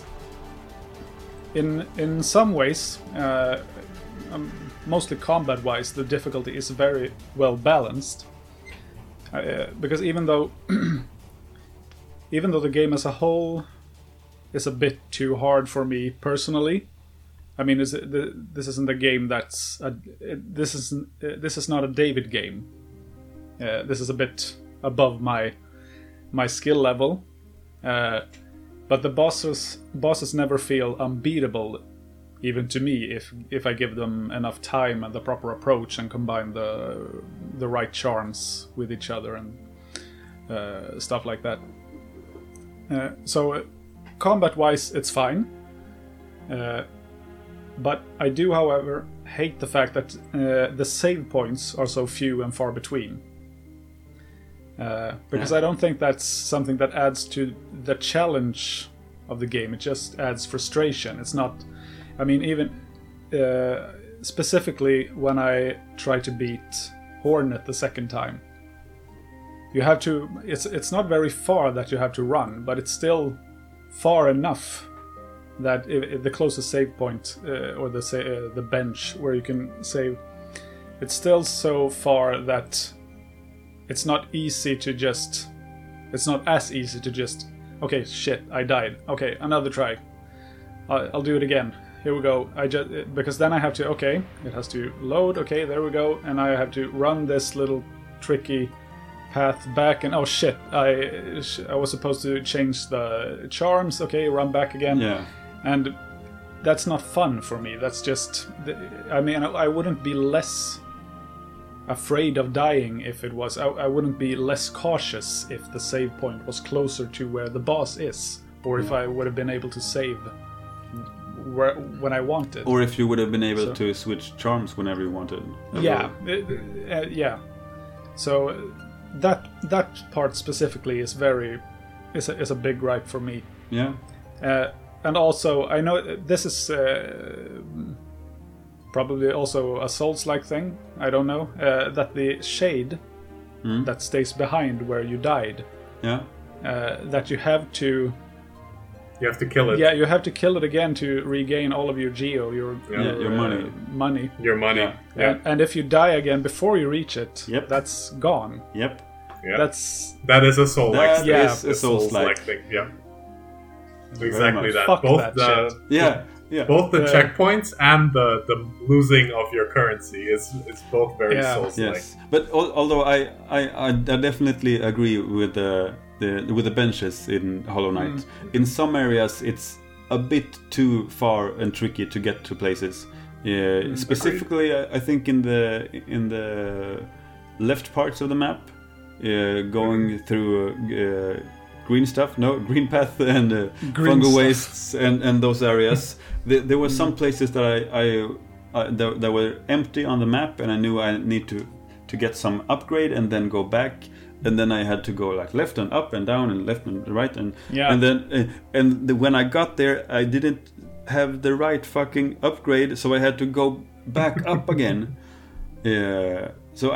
in some ways, mostly combat-wise, the difficulty is very well balanced. Because even though the game as a whole is a bit too hard for me personally, I mean, this isn't a game this is not a David game. This is a bit above my skill level. But the bosses never feel unbeatable, even to me, if I give them enough time and the proper approach and combine the right charms with each other and stuff like that. So combat-wise, it's fine. But I do, however, hate the fact that the save points are so few and far between. Because I don't think that's something that adds to the challenge of the game. It just adds frustration. It's not... I mean, even specifically when I try to beat Hornet the second time, you have to... It's not very far that you have to run, but it's still far enough that if the closest save point or the bench where you can save, it's still so far that it's not as easy to just, okay, shit, I died. Okay, another try. I'll do it again. Here we go. Because then I have to, okay, it has to load. Okay, there we go. And I have to run this little tricky path back. And oh shit, I was supposed to change the charms. Okay, run back again. Yeah. And that's not fun for me. That's just, I mean, I wouldn't be less afraid of dying if it was. I wouldn't be less cautious if the save point was closer to where the boss is, or if I would have been able to save when I wanted, or if you would have been able to switch charms whenever you wanted. Yeah, yeah. So that part specifically is a big gripe for me. Yeah. And also, I know this is probably also a Souls-like thing. I don't know that the shade that stays behind where you died. Yeah. That you have to. You have to kill it. Yeah, you have to kill it again to regain all of your geo, your money. Money. Your money. Yeah. Yeah. And if you die again before you reach it, Yep. that's gone. Yep. Yeah. That is a soul-like thing. That is a Souls-like thing. Yeah. Very Exactly much. that. Fuck Both that the shit. Yeah. both the Yeah. checkpoints and the losing of your currency is both very Yeah. Souls-like. Yes, but although I definitely agree with the benches in Hollow Knight. In some areas, it's a bit too far and tricky to get to places. Specifically, I think in the left parts of the map, going through green path and Green fungal stuff. wastes and those areas. There were some places that that were empty on the map, and I knew I need to get some upgrade and then go back, and then I had to go like left and up and down and left and right and then when I got there, I didn't have the right fucking upgrade, so I had to go back up again. Yeah. So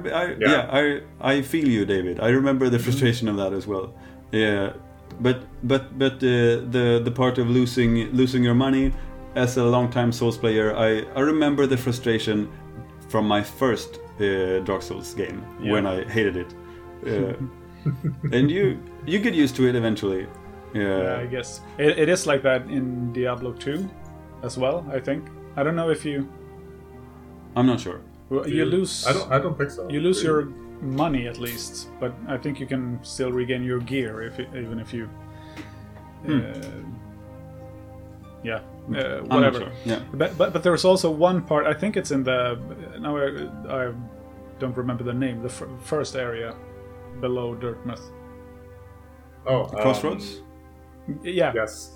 I feel you, David. I remember the frustration of that as well. Yeah, but the part of losing your money as a long-time Souls player, I remember the frustration from my first Dark Souls game when I hated it, and you get used to it eventually. I guess it is like that in Diablo 2 as well. I think. I don't know if you. I'm not sure. You lose. I don't think so. You lose your money at least, but I think you can still regain your gear even if you. I'm not Whatever. sure. Yeah. But there's also one part. I think it's in the. Now I don't remember the name. The first area below Dirtmouth. Oh, Crossroads. Yeah. Yes.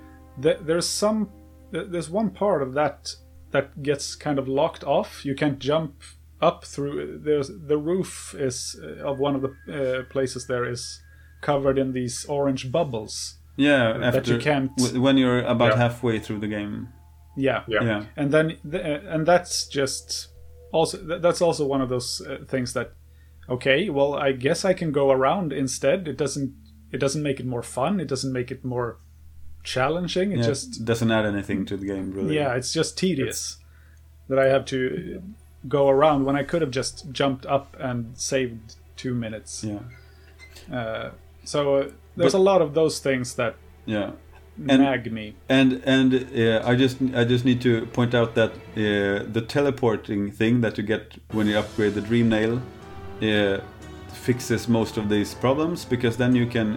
There's one part of that gets kind of locked off. You can't jump up through. The roof is of one of the places there is covered in these orange bubbles. Yeah, that you can't. When you're about halfway through the game. Yeah. And then and that's just also that's also one of those things that. Okay, well, I guess I can go around instead. It doesn't make it more fun. It doesn't make it more challenging. It just doesn't add anything to the game, really. Yeah, it's just tedious that I have to go around when I could have just jumped up and saved 2 minutes. Yeah. So there's a lot of those things that nag me. And I just need to point out that the teleporting thing that you get when you upgrade the Dream Nail fixes most of these problems, because then you can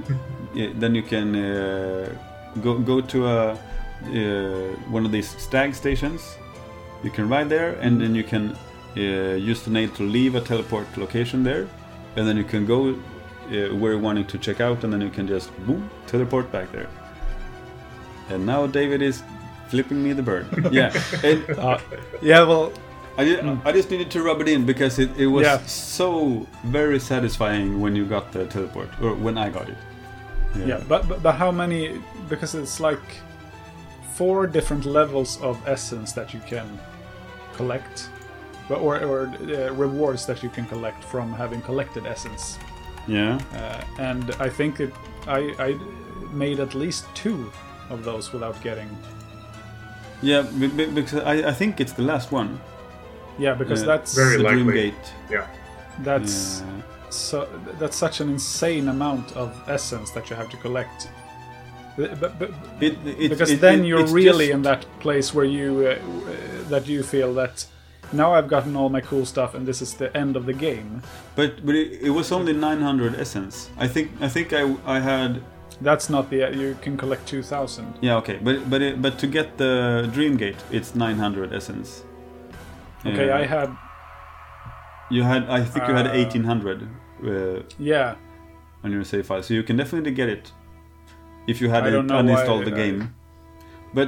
go to one of these stag stations. You can ride there, and then you can use the nail to leave a teleport location there, and then you can go where you're wanting to check out, and then you can just boom, teleport back there. And now David is flipping me the bird. Yeah. Well. I just needed to rub it in, because it was so very satisfying when you got the teleport, or when I got it. Yeah, but how many? Because it's like 4 different levels of essence that you can collect, or rewards that you can collect from having collected essence. Yeah. And I think I made at least 2 of those without getting. Yeah, because I think it's the last one. Yeah, because that's very the likely. Dream Gate. Yeah. That's that's such an insane amount of essence that you have to collect. Because then you're really in that place where you that you feel that now I've gotten all my cool stuff and this is the end of the game. But it was only 900 essence. I think I had. That's not you can collect 2,000. Yeah, okay, but to get the Dream Gate, it's 900 essence. Okay, I had. I think you had 1,800. Yeah. On your save file, so you can definitely get it if you had uninstalled the game. But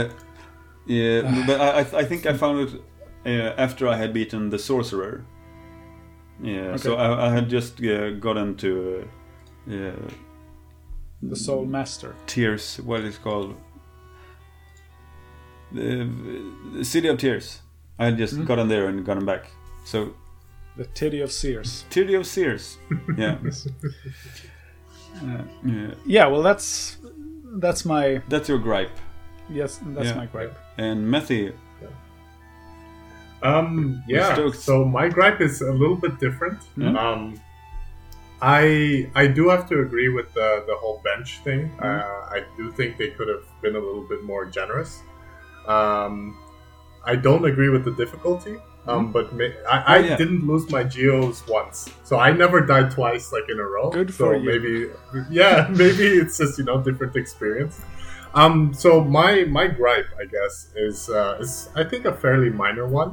but I think I found it after I had beaten the Sorcerer. Yeah, okay. So I had just gotten to the Soul Master. Tears, what it's called. City of Tears. I just got in there and got him back. So The Titty of Sears. Titty of Sears. Yeah. Yeah, well, that's my That's your gripe. my gripe. And Methy. Yeah. Stoked. So my gripe is a little bit different. I do have to agree with the whole bench thing. I do think they could have been a little bit more generous. I don't agree with the difficulty. But I didn't lose my geos once, so I never died twice like in a row. Good for you. Maybe it's just different experience. So my gripe, I guess, is I think a fairly minor one,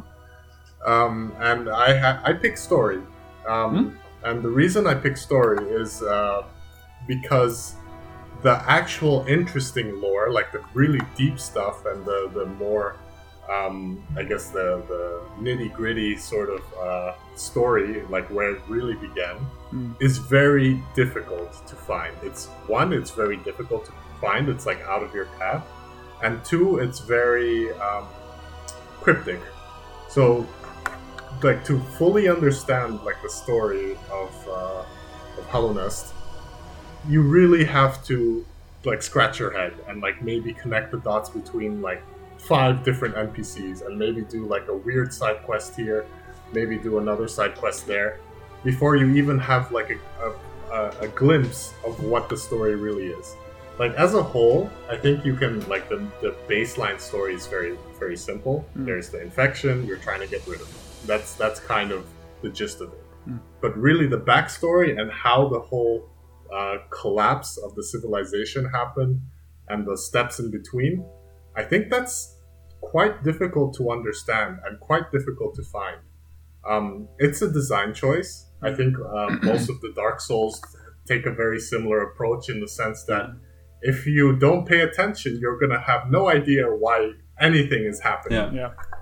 and I picked story, and the reason I picked story is because the actual interesting lore, like the really deep stuff, and the more I guess the nitty-gritty sort of story, like where it really began, is very difficult to find. It's very difficult to find. It's like out of your path. And two, it's very cryptic. So, like, to fully understand like the story of Hallownest, you really have to like scratch your head and like maybe connect the dots between like 5 different NPCs and maybe do like a weird side quest here, maybe do another side quest there, before you even have like a glimpse of what the story really is. Like as a whole, I think you can like the baseline story is very, very simple. There's the infection, you're trying to get rid of it. That's kind of the gist of it. But really the backstory and how the whole collapse of the civilization happened and the steps in between, I think that's quite difficult to understand and quite difficult to find. It's a design choice. I think most of the Dark Souls take a very similar approach in the sense that if you don't pay attention, you're going to have no idea why anything is happening.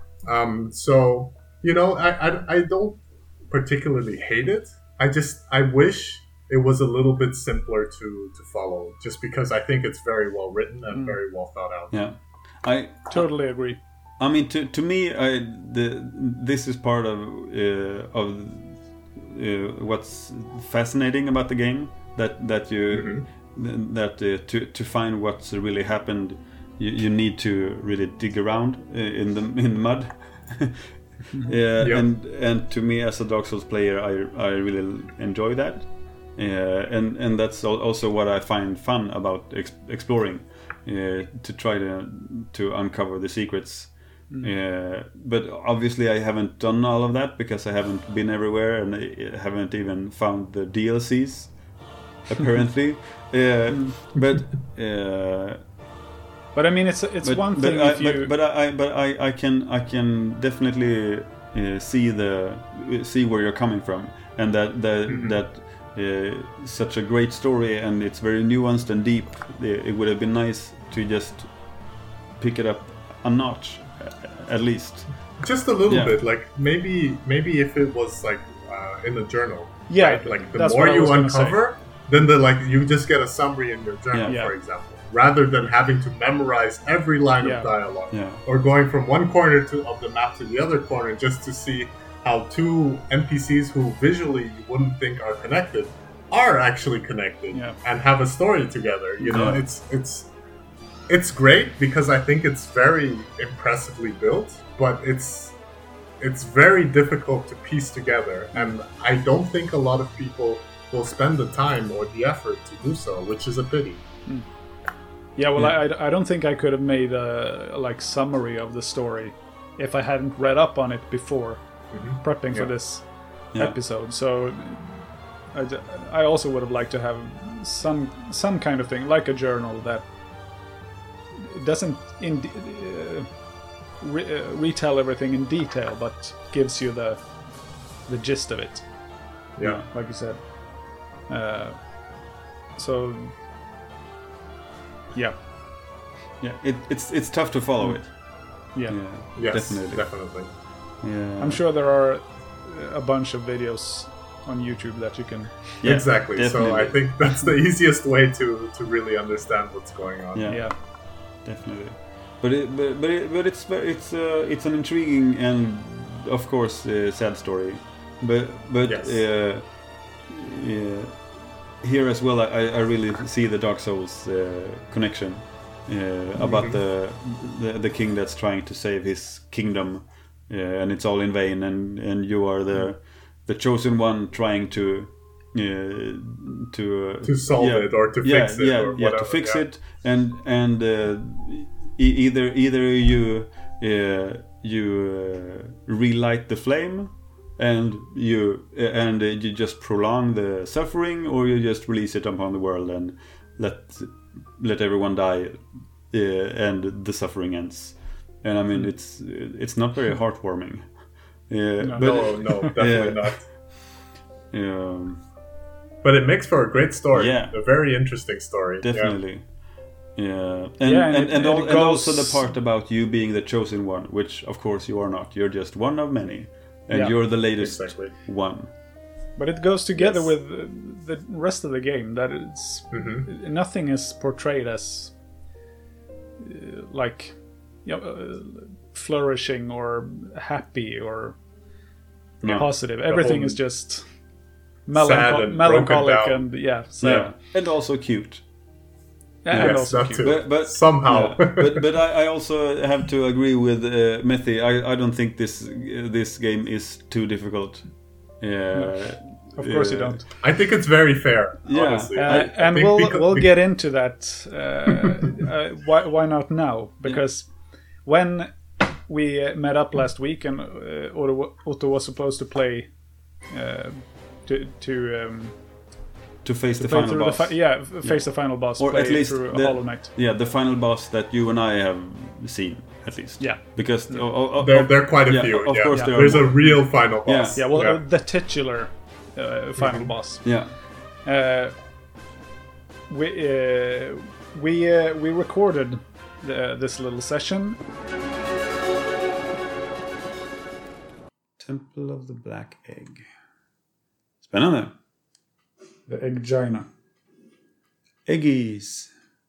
So, I don't particularly hate it. I wish it was a little bit simpler to follow, just because I think it's very well written and very well thought out. Yeah. I totally agree. I mean, to me, this is part of what's fascinating about the game. That you to find what's really happened, you need to really dig around in the mud. And to me, as a Dark Souls player, I really enjoy that. And that's also what I find fun about exploring. To try to uncover the secrets, but obviously I haven't done all of that because I haven't been everywhere and I haven't even found the DLCs, apparently. But I mean, it's one thing. I can definitely see where you're coming from, and that. Such a great story, and it's very nuanced and deep. It would have been nice to just pick it up a notch, at least. Just a little bit, like maybe if it was like in a journal. Yeah, right? Like the more you uncover, then you just get a summary in your journal, for example, rather than having to memorize every line of dialogue, or going from one corner of the map to the other corner just to see how 2 NPCs who visually you wouldn't think are connected are actually connected and have a story together. It's great because I think it's very impressively built, but it's very difficult to piece together, and I don't think a lot of people will spend the time or the effort to do so, which is a pity. Yeah, well, I don't think I could have made a summary of the story if I hadn't read up on it before. Prepping for this episode, so I also would have liked to have some kind of thing like a journal that doesn't retell everything in detail, but gives you the gist of it. Like you said. So it's tough to follow it. Yes, definitely. Yeah. I'm sure there are a bunch of videos on YouTube that you can... Exactly. Definitely. So I think that's the easiest way to really understand what's going on. Yeah. Definitely. it's an intriguing and of course sad story, but Yes. Here as well I really see the Dark Souls connection about the king that's trying to save his kingdom, and it's all in vain, and you are the chosen one trying to solve it or to fix it or whatever. To fix it, and either you relight the flame and you just prolong the suffering, or you just release it upon the world and let everyone die, and the suffering ends. And I mean, it's not very heartwarming. No, definitely not. But it makes for a great story. Yeah. A very interesting story. Definitely. Yeah. And also the part about you being the chosen one, which of course you are not. You're just one of many. And you're the latest one. But it goes together with the rest of the game. That it's nothing is portrayed as flourishing or happy or positive. Everything is just melancholic and sad. Yeah. And also cute. And also cute. But somehow. but I also have to agree with Methy. I don't think this game is too difficult. Of course you don't. I think it's very fair, honestly. And we'll get into that. Why not now? Because when we met up last week and Otto was supposed to play to face the final boss. Face the final boss. Or at least Hollow Knight. Yeah, the final boss that you and I have seen, at least. Yeah. Because there are quite a few. Of course, there's a real final boss. Yeah, the titular final boss. Yeah. We recorded this little session. Temple of the Black Egg. Spännande. The Eggina. Eggies.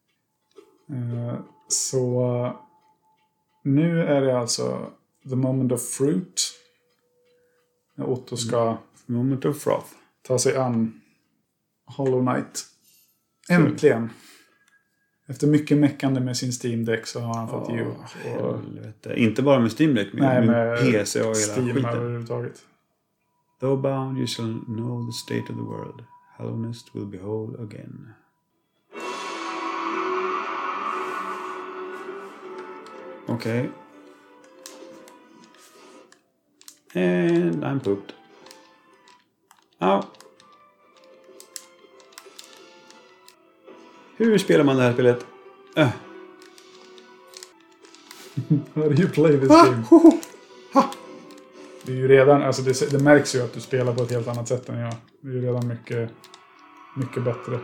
Så nu är det alltså The Moment of Fruit. När Otto ska Moment of Froth ta sig an Hollow Knight. Äntligen. Efter mycket meckande med sin Steam Deck så har han fått ge upp. Inte bara med Steam Deck, med PC och hela Steam skiten. Överhuvudtaget. Though bound you shall know the state of the world. Hallowness will be whole again. Okay. And I'm pooped. Au. Hur spelar man det här spelet? How do you play this game? Det är ju redan, alltså det märks ju att du spelar på ett helt annat sätt än jag. Det är ju redan mycket bättre.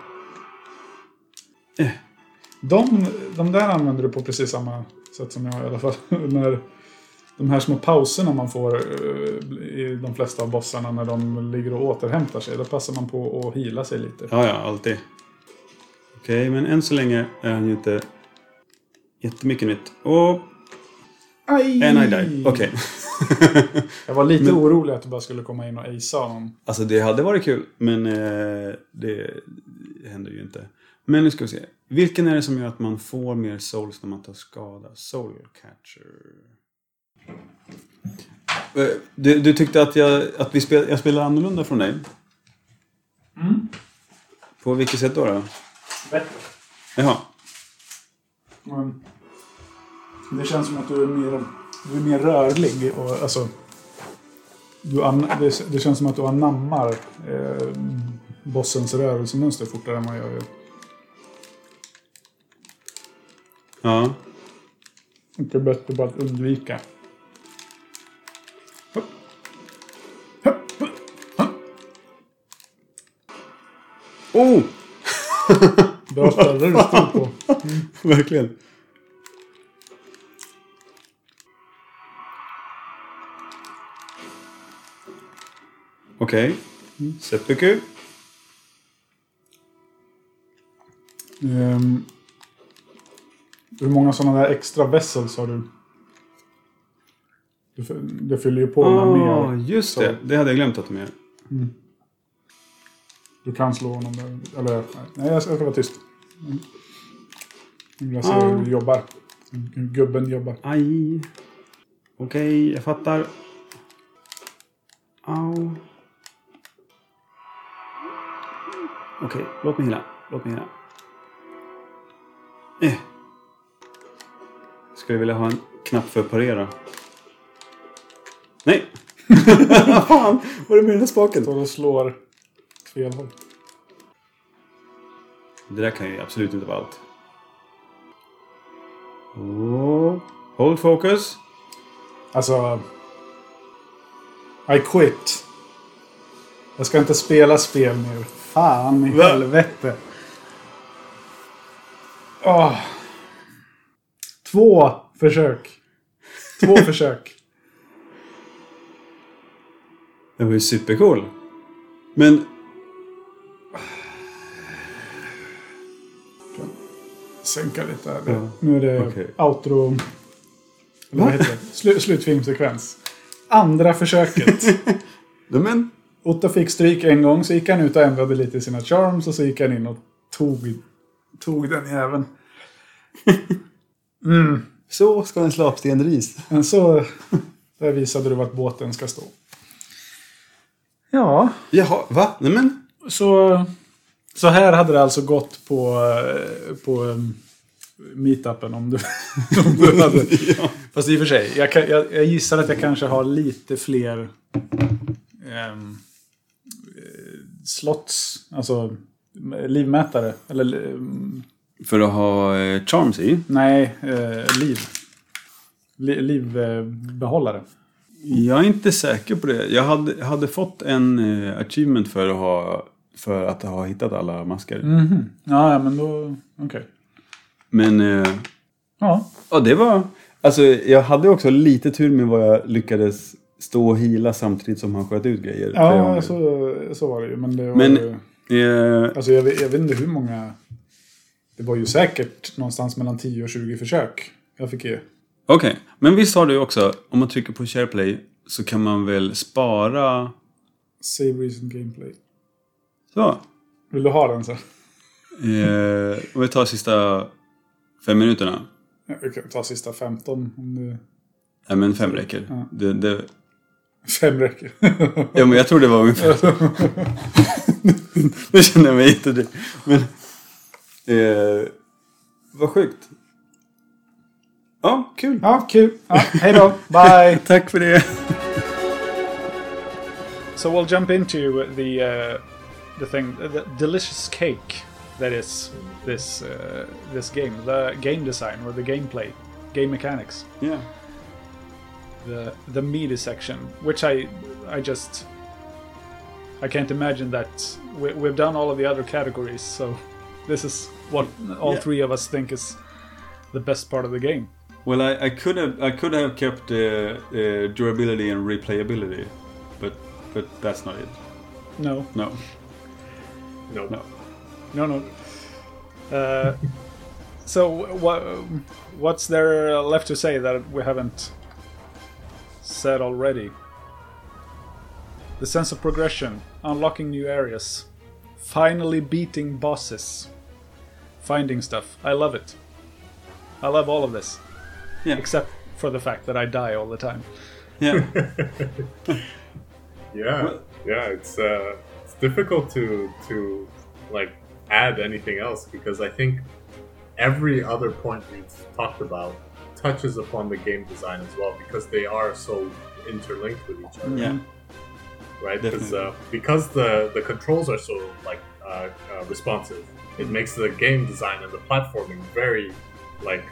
De där använder du på precis samma sätt som jag i alla fall. När de här små pauserna man får i de flesta av bossarna när de ligger och återhämtar sig. Då passar man på att heala sig lite. Ja, alltid. Okej, men än så länge är han ju inte jättemycket nytt. Och... Aj! And I died. Okej. Jag var lite orolig att du bara skulle komma in och acea honom. Alltså det hade varit kul, men det händer ju inte. Men nu ska vi se. Vilken är det som gör att man får mer souls när man tar skada? Soul Catcher. Du tyckte att jag spelar annorlunda från dig? Mm. På vilket sätt då? Bättre. Jaha. Det känns som att du är mer rörlig. Och, alltså, det känns som att du anammar bossens rörelsemönster fortare än vad jag gör. Ja. Det är bättre bara att undvika. Oh! Bra ställe du stod på. Verkligen. Okej. Seppuku. Hur många sådana där extra vessels har du? Det fyller ju på med mer. Just det. Det hade jag glömt att de gör. Du kan slå honom där. Eller, nej, jag ska vara tyst. Jag ser hur du jobbar. Hur gubben jobbar. Aj. Okej, jag fattar. Au. Okej, låt mig hila. Ska jag vilja ha en knapp för att parera? Nej! Fan, vad är det med den här spaken? Så du slår fel håll. Det där kan ju absolut inte vara allt. Hold focus. Alltså... I quit. Jag ska inte spela spel nu. Fan i helvete. 2 försök. Det var ju supercool. Men... Sänka lite här. Nu är det outro... Eller vad heter det? Slutfilmsekvens. Andra försöket. Men... Otto fick stryk en gång, så gick han ut och ändrade lite sina charms, och så gick han in och tog den jäveln. Så ska en slapstenris. Men så där visade du vart båten ska stå. Ja. Jaha, va? Nej men... Så här hade det alltså gått på meetupen om du hade... Ja. Fast i och för sig, jag gissar att jag kanske har lite fler slots, alltså livmätare. Eller, för att ha charms i? Nej, livbehållare. Jag är inte säker på det. Jag hade fått en achievement för att ha hittat alla masker. Mm-hmm. Ja, men då... Okej. Men... Ja, det var... Alltså, jag hade också lite tur med vad jag lyckades stå och hila samtidigt som han sköt ut grejer. Ja, så var det ju. Men det var alltså, jag vet inte hur många... Det var ju säkert någonstans mellan 10 och 20 försök jag fick ge. Okej, men visst har du också, om man trycker på SharePlay så kan man väl spara... Save recent gameplay. Så. Vill du ha den så? Om vi tar sista 5 minuterna. Vi kan ta sista 15 om du... Ja, men 5 räcker. Ja. 5 räcker. Ja, men jag tror det var ungefär. Nu känner jag mig jättedryg. Men... vad sjukt. Ja, kul. Ja, kul. Ja, hej då. Bye. Tack för det. So we'll jump into the thing, the delicious cake that is this game, the game design or the gameplay, game mechanics. Yeah. The meaty section, which I can't imagine that we've done all of the other categories, so this is what all three of us think is the best part of the game. Well, I could have kept durability and replayability, but that's not it. No. So what's there left to say that we haven't said already? The sense of progression, unlocking new areas, finally beating bosses, finding stuff. I love it. I love all of this. Yeah. Except for the fact that I die all the time. Yeah. It's difficult to like add anything else, because I think every other point we've talked about touches upon the game design as well, because they are so interlinked with each other. Yeah. Right? Because the controls are so like responsive, it makes the game design and the platforming very like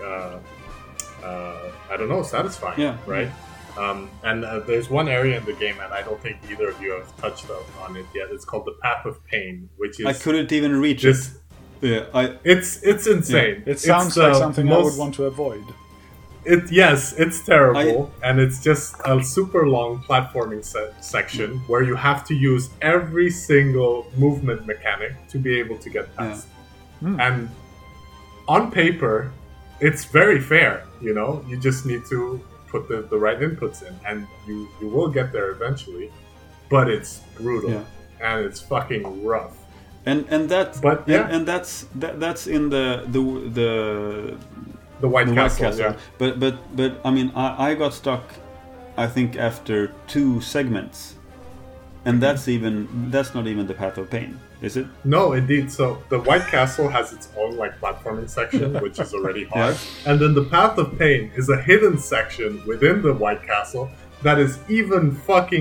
satisfying. Yeah. Right? And there's one area in the game, and I don't think either of you have touched on it yet. It's called the Path of Pain, which is... I couldn't even reach it. Yeah, It's insane. Yeah. It sounds like something I would want to avoid. It's terrible, and it's just a super long platforming section where you have to use every single movement mechanic to be able to get past. And on paper, it's very fair. You know, you just need to put the right inputs in, and you will get there eventually. But it's brutal and it's fucking rough. And that's But, yeah. and that's in the White Castle. Yeah. But I mean, I got stuck, I think, after 2 segments, and that's not even the Path of Pain, is it? No, indeed. So the White Castle has its own like platforming section, which is already hard, and then the Path of Pain is a hidden section within the White Castle that is even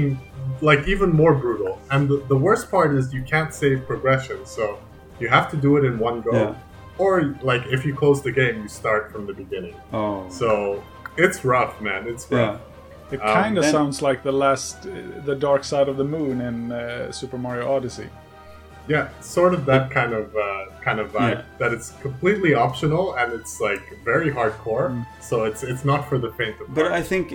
more brutal. And the worst part is you can't save progression, so you have to do it in one go. Yeah. Or, like, if you close the game, you start from the beginning. Oh. So, it's rough, man. It's rough. It kind of sounds like the Dark Side of the Moon in Super Mario Odyssey. Yeah, sort of that kind of vibe. Yeah. That it's completely optional and it's like very hardcore. So it's not for the faint of heart. But I think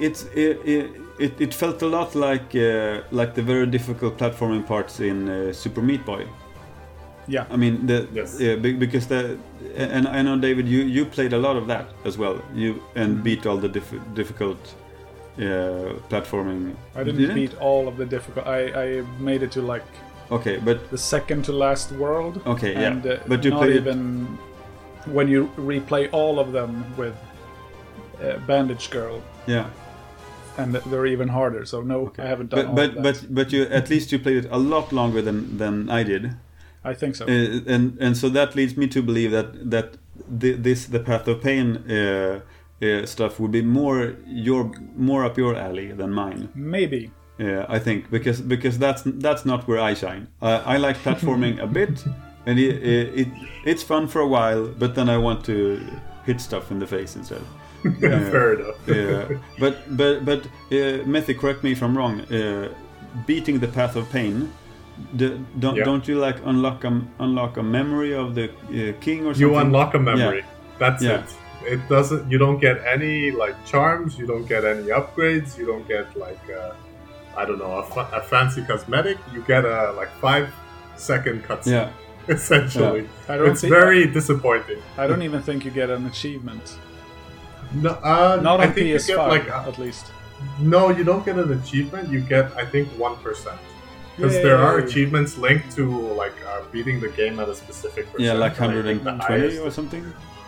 it felt a lot like the very difficult platforming parts in Super Meat Boy. Yeah, I mean because and I know, David, you played a lot of that as well. You beat all the difficult platforming. I didn't beat all of the difficult. I made it to like the second to last world. Okay, and, yeah. But you not played even when you replay all of them with Bandage Girl. Yeah. And they're even harder. So no, I haven't done all of that. But you at least you played it a lot longer than I did. I think so. And so that leads me to believe that the Path of Pain stuff would be more up your alley than mine. Maybe. I think because that's not where I shine. I like platforming a bit, and it's fun for a while, but then I want to hit stuff in the face instead. Fair enough. But Methy, correct me if I'm wrong. Beating the Path of Pain. Don't you like unlock a memory of the king or something? You unlock a memory. Yeah. That's it. It doesn't. You don't get any like charms. You don't get any upgrades. You don't get like I don't know a fancy cosmetic. You get a like 5-second cutscene. Yeah. Essentially, it's very disappointing. I don't even think you get an achievement. No, not I on think PS5 you get, like, at least. No, you don't get an achievement. You get, I think, 1%. Because there are achievements linked to like beating the game at a specific percent. Yeah, like 120 or something.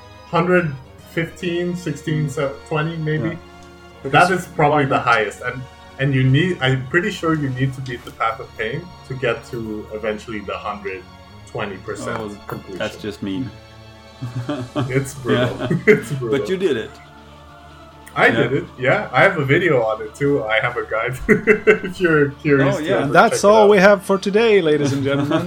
115, 16, 20 maybe. Yeah. That is probably the highest, and you need. I'm pretty sure you need to beat the Path of Pain to get to eventually the 120% completion. That's just mean. It's brutal. It's brutal. But you did it. I did it, yeah. I have a video on it too. I have a guide if you're curious. Oh, yeah. And that's all we have for today, ladies and gentlemen.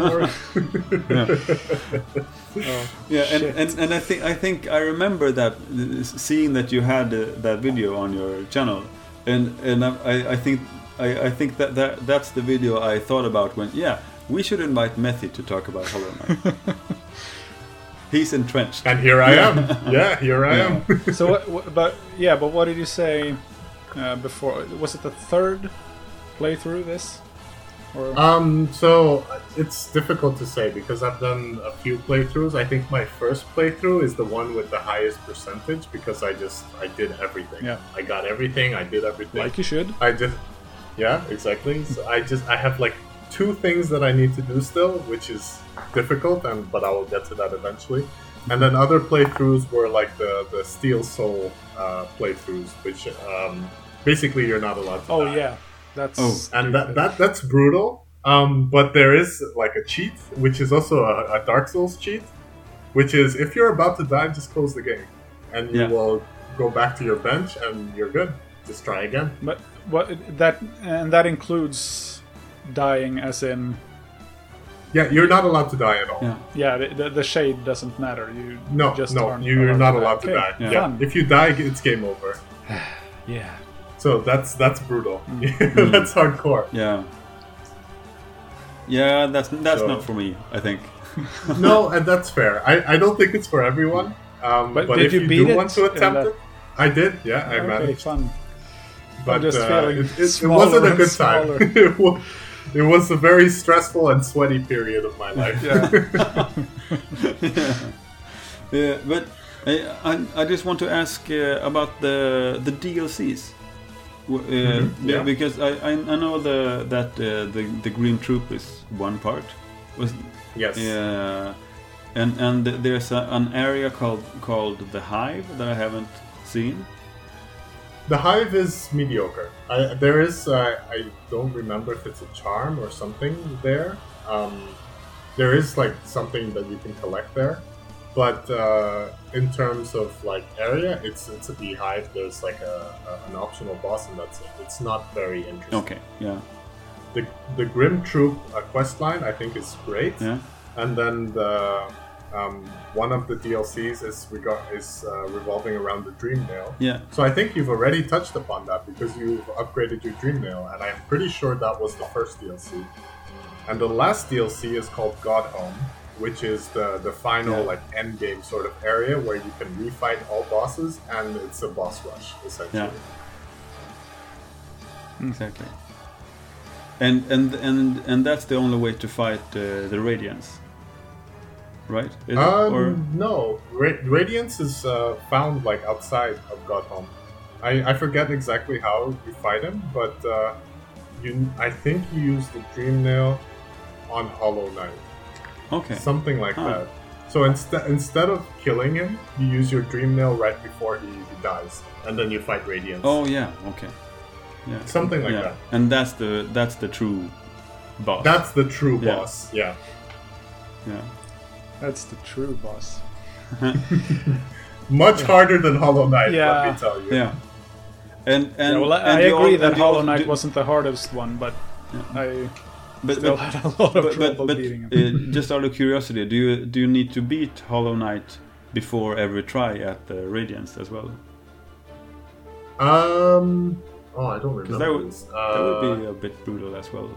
And I think I remember that seeing that you had that video on your channel, and I think that's the video I thought about when we should invite Methy to talk about Hollow Knight. He's entrenched. And here I am. Yeah, here I am. So, but what did you say before? Was it the third playthrough this? Or? So it's difficult to say because I've done a few playthroughs. I think my first playthrough is the one with the highest percentage because I did everything. Yeah. I got everything. I did everything. Like you should. Yeah, exactly. So I have like 2 things that I need to do still, which is difficult, but I will get to that eventually. And then other playthroughs were like the Steel Soul playthroughs, which basically you're not allowed to die. Yeah, that's and that's brutal. But there is like a cheat, which is also a Dark Souls cheat, which is if you're about to die, just close the game, and you will go back to your bench and you're good. Just try again. But that includes dying, as in. Yeah, you're not allowed to die at all. Yeah, the shade doesn't matter. You're not allowed to die. Yeah. If you die, it's game over. Yeah. So that's brutal. That's hardcore. Yeah. Yeah, that's not for me, I think. No, and that's fair. I don't think it's for everyone. But did if you do beat want to attempt it, I did. Yeah, I managed. Fun. But just feeling it wasn't a good time. It was a very stressful and sweaty period of my life. Yeah, I just want to ask about the DLCs. Yeah. Because I know that the Green Troop is one part. Yes. And there's an area called the Hive that I haven't seen. The Hive is mediocre. There is, I don't remember if it's a charm or something there. There is like something that you can collect there, but in terms of like area, it's a beehive. There's like an optional boss, and that's it. It's not very interesting. Okay, yeah. The Grim Troop quest line I think is great, Yeah. and then the one of the DLCs is revolving around the Dream Nail. Yeah. So I think you've already touched upon that because you've upgraded your Dream Nail, and I'm pretty sure that was the first DLC. And the last DLC is called God Home, which is the final like end game sort of area where you can refight all bosses, and it's a boss rush essentially. Yeah. Exactly. And that's the only way to fight the Radiance, right? Is it? No, Radiance is found like outside of God Home. I forget exactly how you fight him, but I think you use the Dream Nail on Hollow Knight. Okay. Something like that. So instead of killing him, you use your Dream Nail right before he dies, and then you fight Radiance. Oh yeah. Okay. Yeah. Something like that. And that's the true boss. That's the true boss. Yeah. Yeah. That's the true boss. Much harder than Hollow Knight, Yeah. let me tell you. Yeah. And I you agree al- that and you Hollow also Knight do- wasn't the hardest one, but I but, still but, had a lot of trouble but beating him. just out of curiosity, do you need to beat Hollow Knight before every try at the Radiance as well? I don't remember. That would be a bit brutal as well.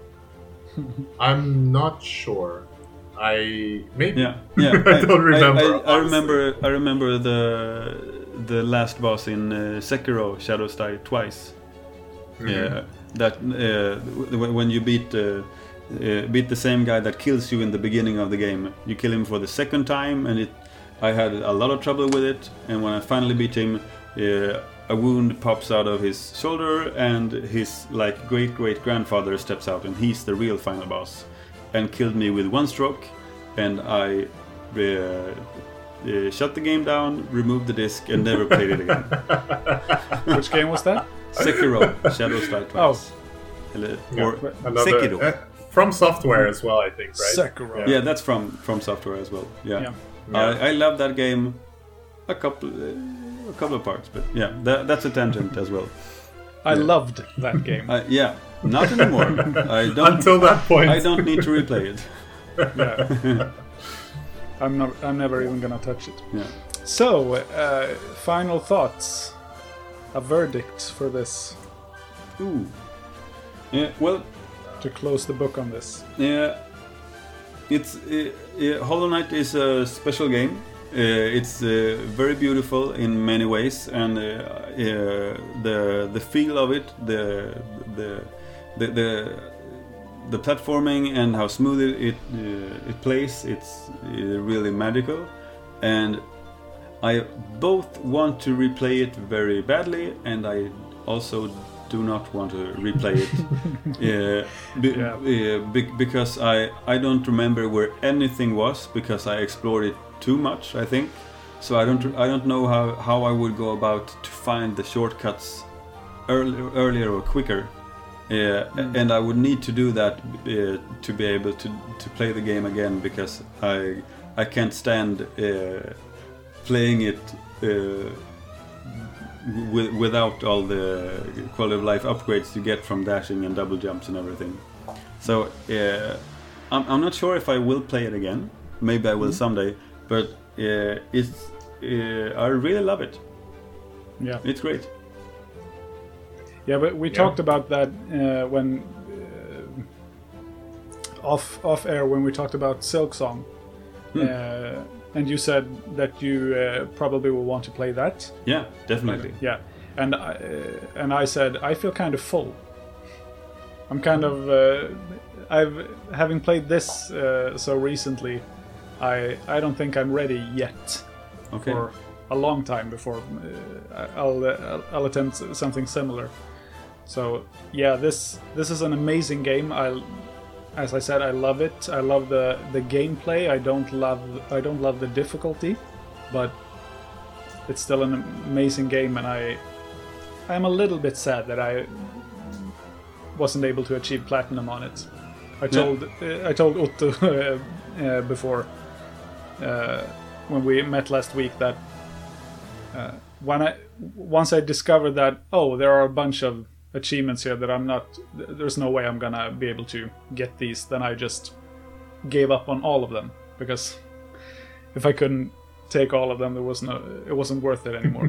I'm not sure. Maybe. Yeah. I don't remember. I remember the last boss in Sekiro: Shadows Die Twice. Mm-hmm. That when you beat the same guy that kills you in the beginning of the game, you kill him for the second time, and I had a lot of trouble with it. And when I finally beat him, a wound pops out of his shoulder, and his like great grandfather steps out, and he's the real final boss, and killed me with one stroke. And I shut the game down, removed the disc, and never played it again. Which game was that? Sekiro: Shadows Die Twice. Or Sekiro. From Software as well, I think, right? Sekiro. Yeah, that's from Software as well. Yeah. Yeah. I love that game. A couple of parts, but yeah, that's a tangent as well. I loved that game. Yeah, not anymore. I don't. Until that point. I don't need to replay it. Yeah. I'm never even gonna touch it. Yeah. So, final thoughts. A verdict for this. Ooh. Yeah. Well. To close the book on this. Yeah. It's Hollow Knight is a special game. It's very beautiful in many ways, and the feel of it, the platforming and how smooth it plays, it's really magical. And I both want to replay it very badly, and I also do not want to replay it because I don't remember where anything was, because I explored it too much, I think. So I don't know how I would go about to find the shortcuts earlier or quicker. And I would need to do that to be able to play the game again, because I can't stand playing it without all the quality of life upgrades you get from dashing and double jumps and everything. So I'm not sure if I will play it again. Maybe I will someday, but I really love it. Yeah, it's great. Yeah, but we talked about that when off air when we talked about Silksong, and you said that you probably will want to play that. Yeah, definitely. Yeah, and I said I feel kind of full. I'm kind of having played this so recently. I don't think I'm ready yet Okay. for a long time before I'll attempt something similar. So yeah, this is an amazing game. As I said, I love it. I love the gameplay. I don't love the difficulty, but it's still an amazing game, and I'm a little bit sad that I wasn't able to achieve platinum on it. I told Otto before when we met last week that once I discovered that there are a bunch of achievements here that there's no way I'm gonna be able to get these, then I just gave up on all of them, because if I couldn't take all of them, it wasn't worth it anymore.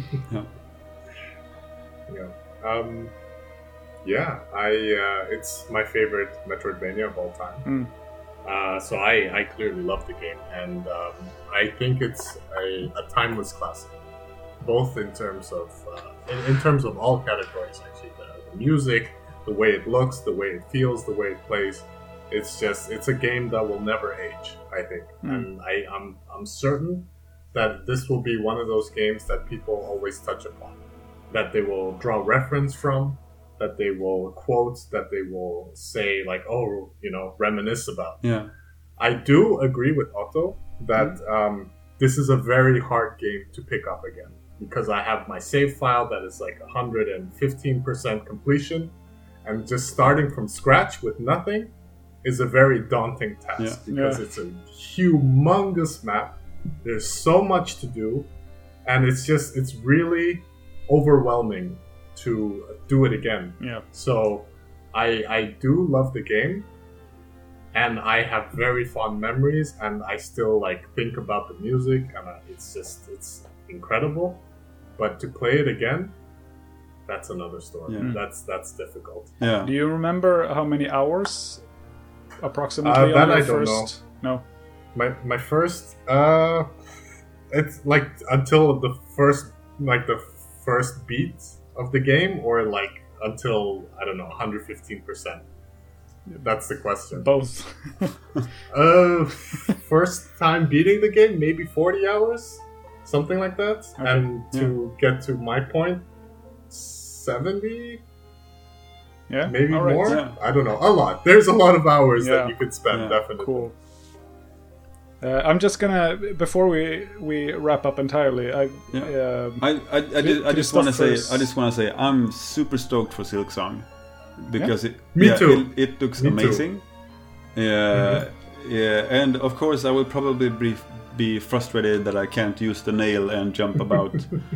It's my favorite Metroidvania of all time. So I clearly love the game, and I think it's a timeless classic, both in terms of all categories. Actually, the music, the way it looks, the way it feels, the way it plays. It's a game that will never age, I think, and I'm certain that this will be one of those games that people always touch upon, that they will draw reference from, that they will quote, that they will say like, reminisce about. Yeah, I do agree with Otto that this is a very hard game to pick up again, because I have my save file that is like 115% completion, and just starting from scratch with nothing is a very daunting task, because it's a humongous map. There's so much to do, and it's really overwhelming to do it again. Yeah. So I do love the game, and I have very fond memories, and I still think about the music, and it's incredible. But to play it again, that's another story. Yeah. That's difficult. Yeah. Do you remember how many hours approximately that on your I first? Don't know. No. My first it's until the first beat of the game, or until 115%. That's the question. Both. First time beating the game, maybe 40 hours, something like that. Okay. And to get to my point, 70. Yeah, maybe right. more. Yeah. I don't know. A lot. There's a lot of hours that you could spend. Definitely. Cool. I'm just gonna, before we wrap up entirely, I just want to say I'm super stoked for Silksong, because Me too. It looks amazing. Yeah, and of course I will probably be frustrated that I can't use the nail and jump about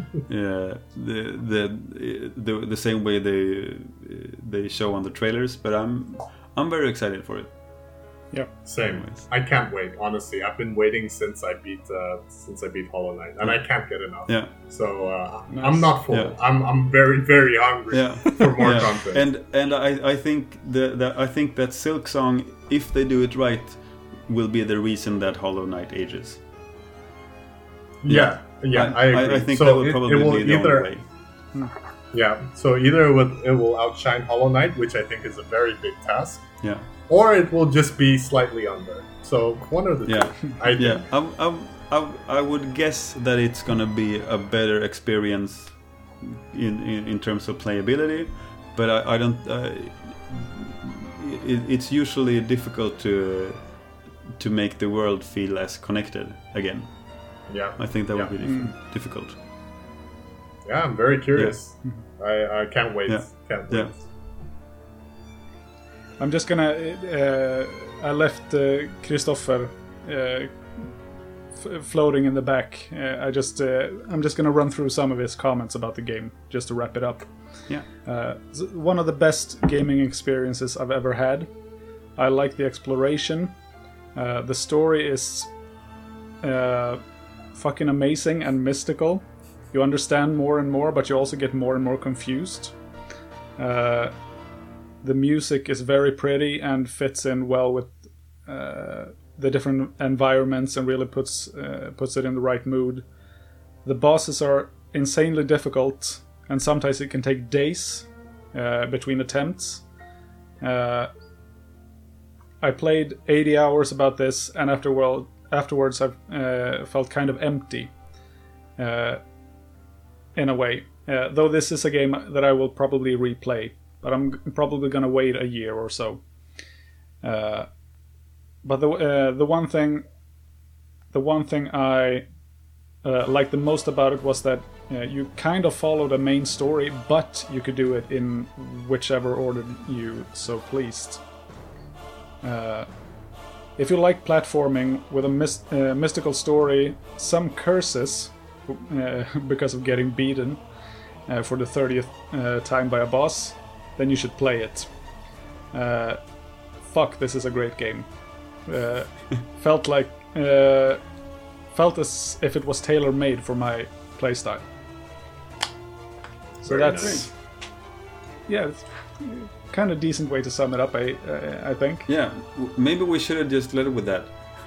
the same way they show on the trailers, but I'm very excited for it. Yeah, same. Anyways. I can't wait. Honestly, I've been waiting since I beat Hollow Knight, and I can't get enough. Yeah. So nice. I'm not full. Yeah. I'm very, very hungry for more content. And I think that Silksong, if they do it right, will be the reason that Hollow Knight ages. Yeah, I agree. I think that will probably be the only way. Yeah. So either it will outshine Hollow Knight, which I think is a very big task. Yeah. Or it will just be slightly under. So one of the two. I think. Yeah. I would guess that it's gonna be a better experience in terms of playability, but I don't. It's usually difficult to make the world feel as connected again. Yeah. I think that would be difficult. Yeah, I'm very curious. Yeah. I can't wait. Yeah. Can't wait. Yeah. I'm just gonna. I left Christopher floating in the back. I'm just gonna run through some of his comments about the game just to wrap it up. Yeah. One of the best gaming experiences I've ever had. I like the exploration. The story is fucking amazing and mystical. You understand more and more, but you also get more and more confused. The music is very pretty and fits in well with the different environments and really puts it in the right mood. The bosses are insanely difficult, and sometimes it can take days between attempts. I played 80 hours about this, and afterwards I felt kind of empty. in a way. Though this is a game that I will probably replay, but I'm probably gonna wait a year or so. But the one thing I liked the most about it was that you kind of follow the main story, but you could do it in whichever order you so pleased. If you like platforming with a mystical story, some curses because of getting beaten for the 30th time by a boss, then you should play it. Fuck, this is a great game. Felt as if it was tailor-made for my playstyle. So Very that's nice. Yeah, it's kind of decent way to sum it up. I think. Yeah, maybe we should have just led it with that.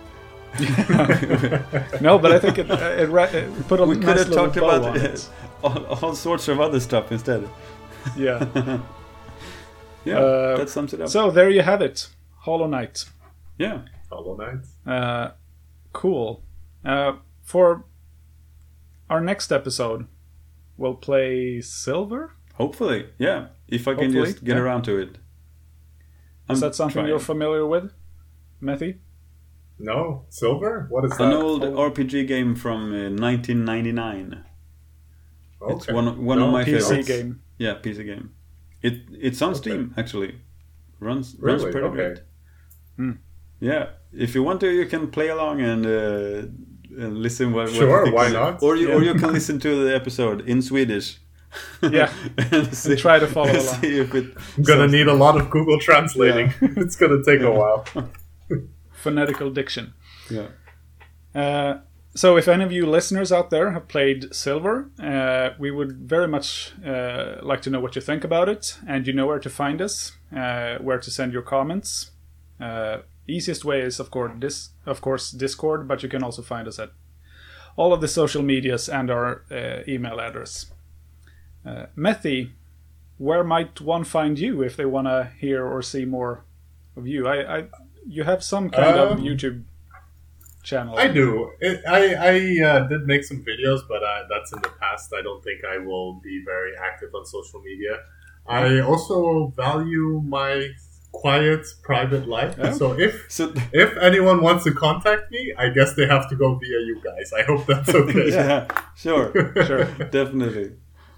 No, but I think it put a We nice could have little talked bow about on it. all sorts of other stuff instead. Yeah. Yeah, that sums it up. So there you have it, Hollow Knight. Yeah. Hollow Knight. Cool. For our next episode, we'll play Silver. Hopefully, yeah. If I can Hopefully, just get yeah. around to it. Is that something you're familiar with, Methy? No, Silver. What is An that? old RPG game from 1999. It's Okay. one of my PC favorites. game. Yeah, PC game. It's on Steam actually. Runs Really? pretty Okay. great. Hmm. Yeah, if you want to, you can play along and listen. What Sure, you think why of it. not? Or you Yeah. can listen to the episode in Swedish. Yeah, and see, try to follow along. See if it I'm gonna need a lot of Google translating. It's gonna take a while. phonetical diction. Yeah. So if any of you listeners out there have played Silver, we would very much like to know what you think about it, and you know where to find us, where to send your comments. Easiest way is of course Discord, but you can also find us at all of the social medias and our email address. Methy, where might one find you if they want to hear or see more of you? You have some kind of YouTube channel. I do. I did make some videos, but that's in the past. I don't think I will be very active on social media. I also value my quiet, private life. Yeah. So So if anyone wants to contact me, I guess they have to go via you guys. I hope that's okay. yeah, sure, Sure. definitely.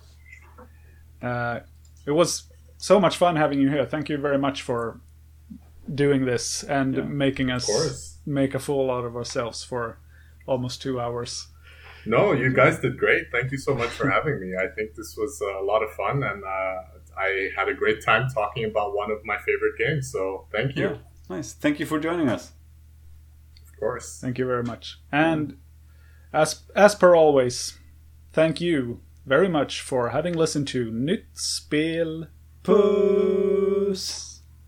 It was so much fun having you here. Thank you very much for doing this and making us course. make a fool out of ourselves for almost 2 hours. No, you guys did great. Thank you so much for having me. I think this was a lot of fun, and I had a great time talking about one of my favorite games. So thank you. Yeah, nice. Thank you for joining us. Of course. Thank you very much. And as per always, thank you very much for having listened to Nytt Spel Puss.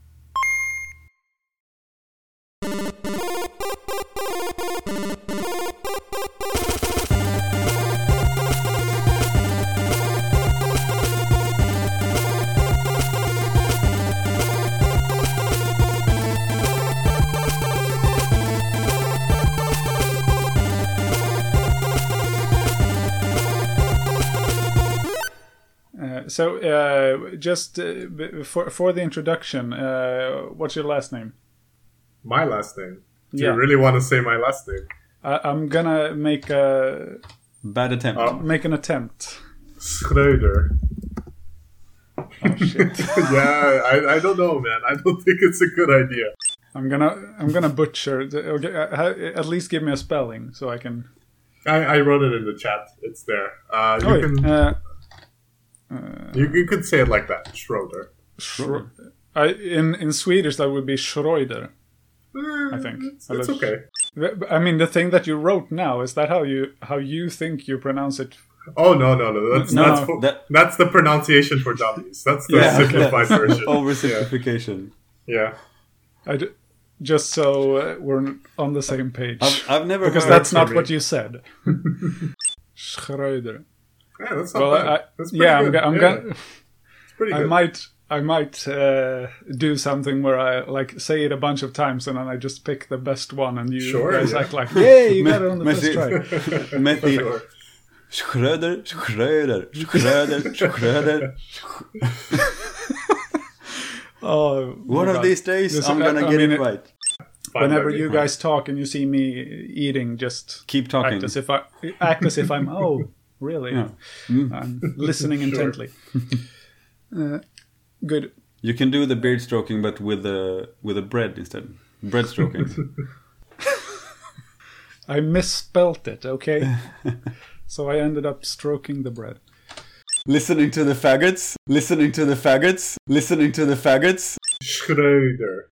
Just for the introduction, what's your last name? My last name. Do Yeah. you really want to say my last name? I'm gonna make Bad attempt. make an attempt. Schröder. Oh shit! Yeah, I don't know, man. I don't think it's a good idea. I'm gonna butcher. Okay, at least give me a spelling so I can. I wrote it in the chat. It's there. You could say it like that, Schroeder. In Swedish that would be Schreuder. I think. It's okay. I mean, the thing that you wrote now, is that how you think you pronounce it? Oh no! That's the pronunciation for dummies. That's the simplified version. Oversimplification. Yeah. Just so we're on the same page. I've never because heard that's not me. what you said. Schreuder. Yeah, that's not bad. That's pretty good. I'm gonna. It's pretty good. I might do something where I like say it a bunch of times and then I just pick the best one and you guys act like, yay, you got it on the first try. Methy, Sure. Schröder. Oh, One of these days, I'm gonna get it right. Whenever you guys talk and you see me eating, just Keep talking. act as if I'm. Oh, really? Yeah. I'm listening intently. Good. You can do the beard stroking, but with a bread instead. Bread stroking. I misspelt it. Okay. So I ended up stroking the bread. Listening to the faggots. Schröder.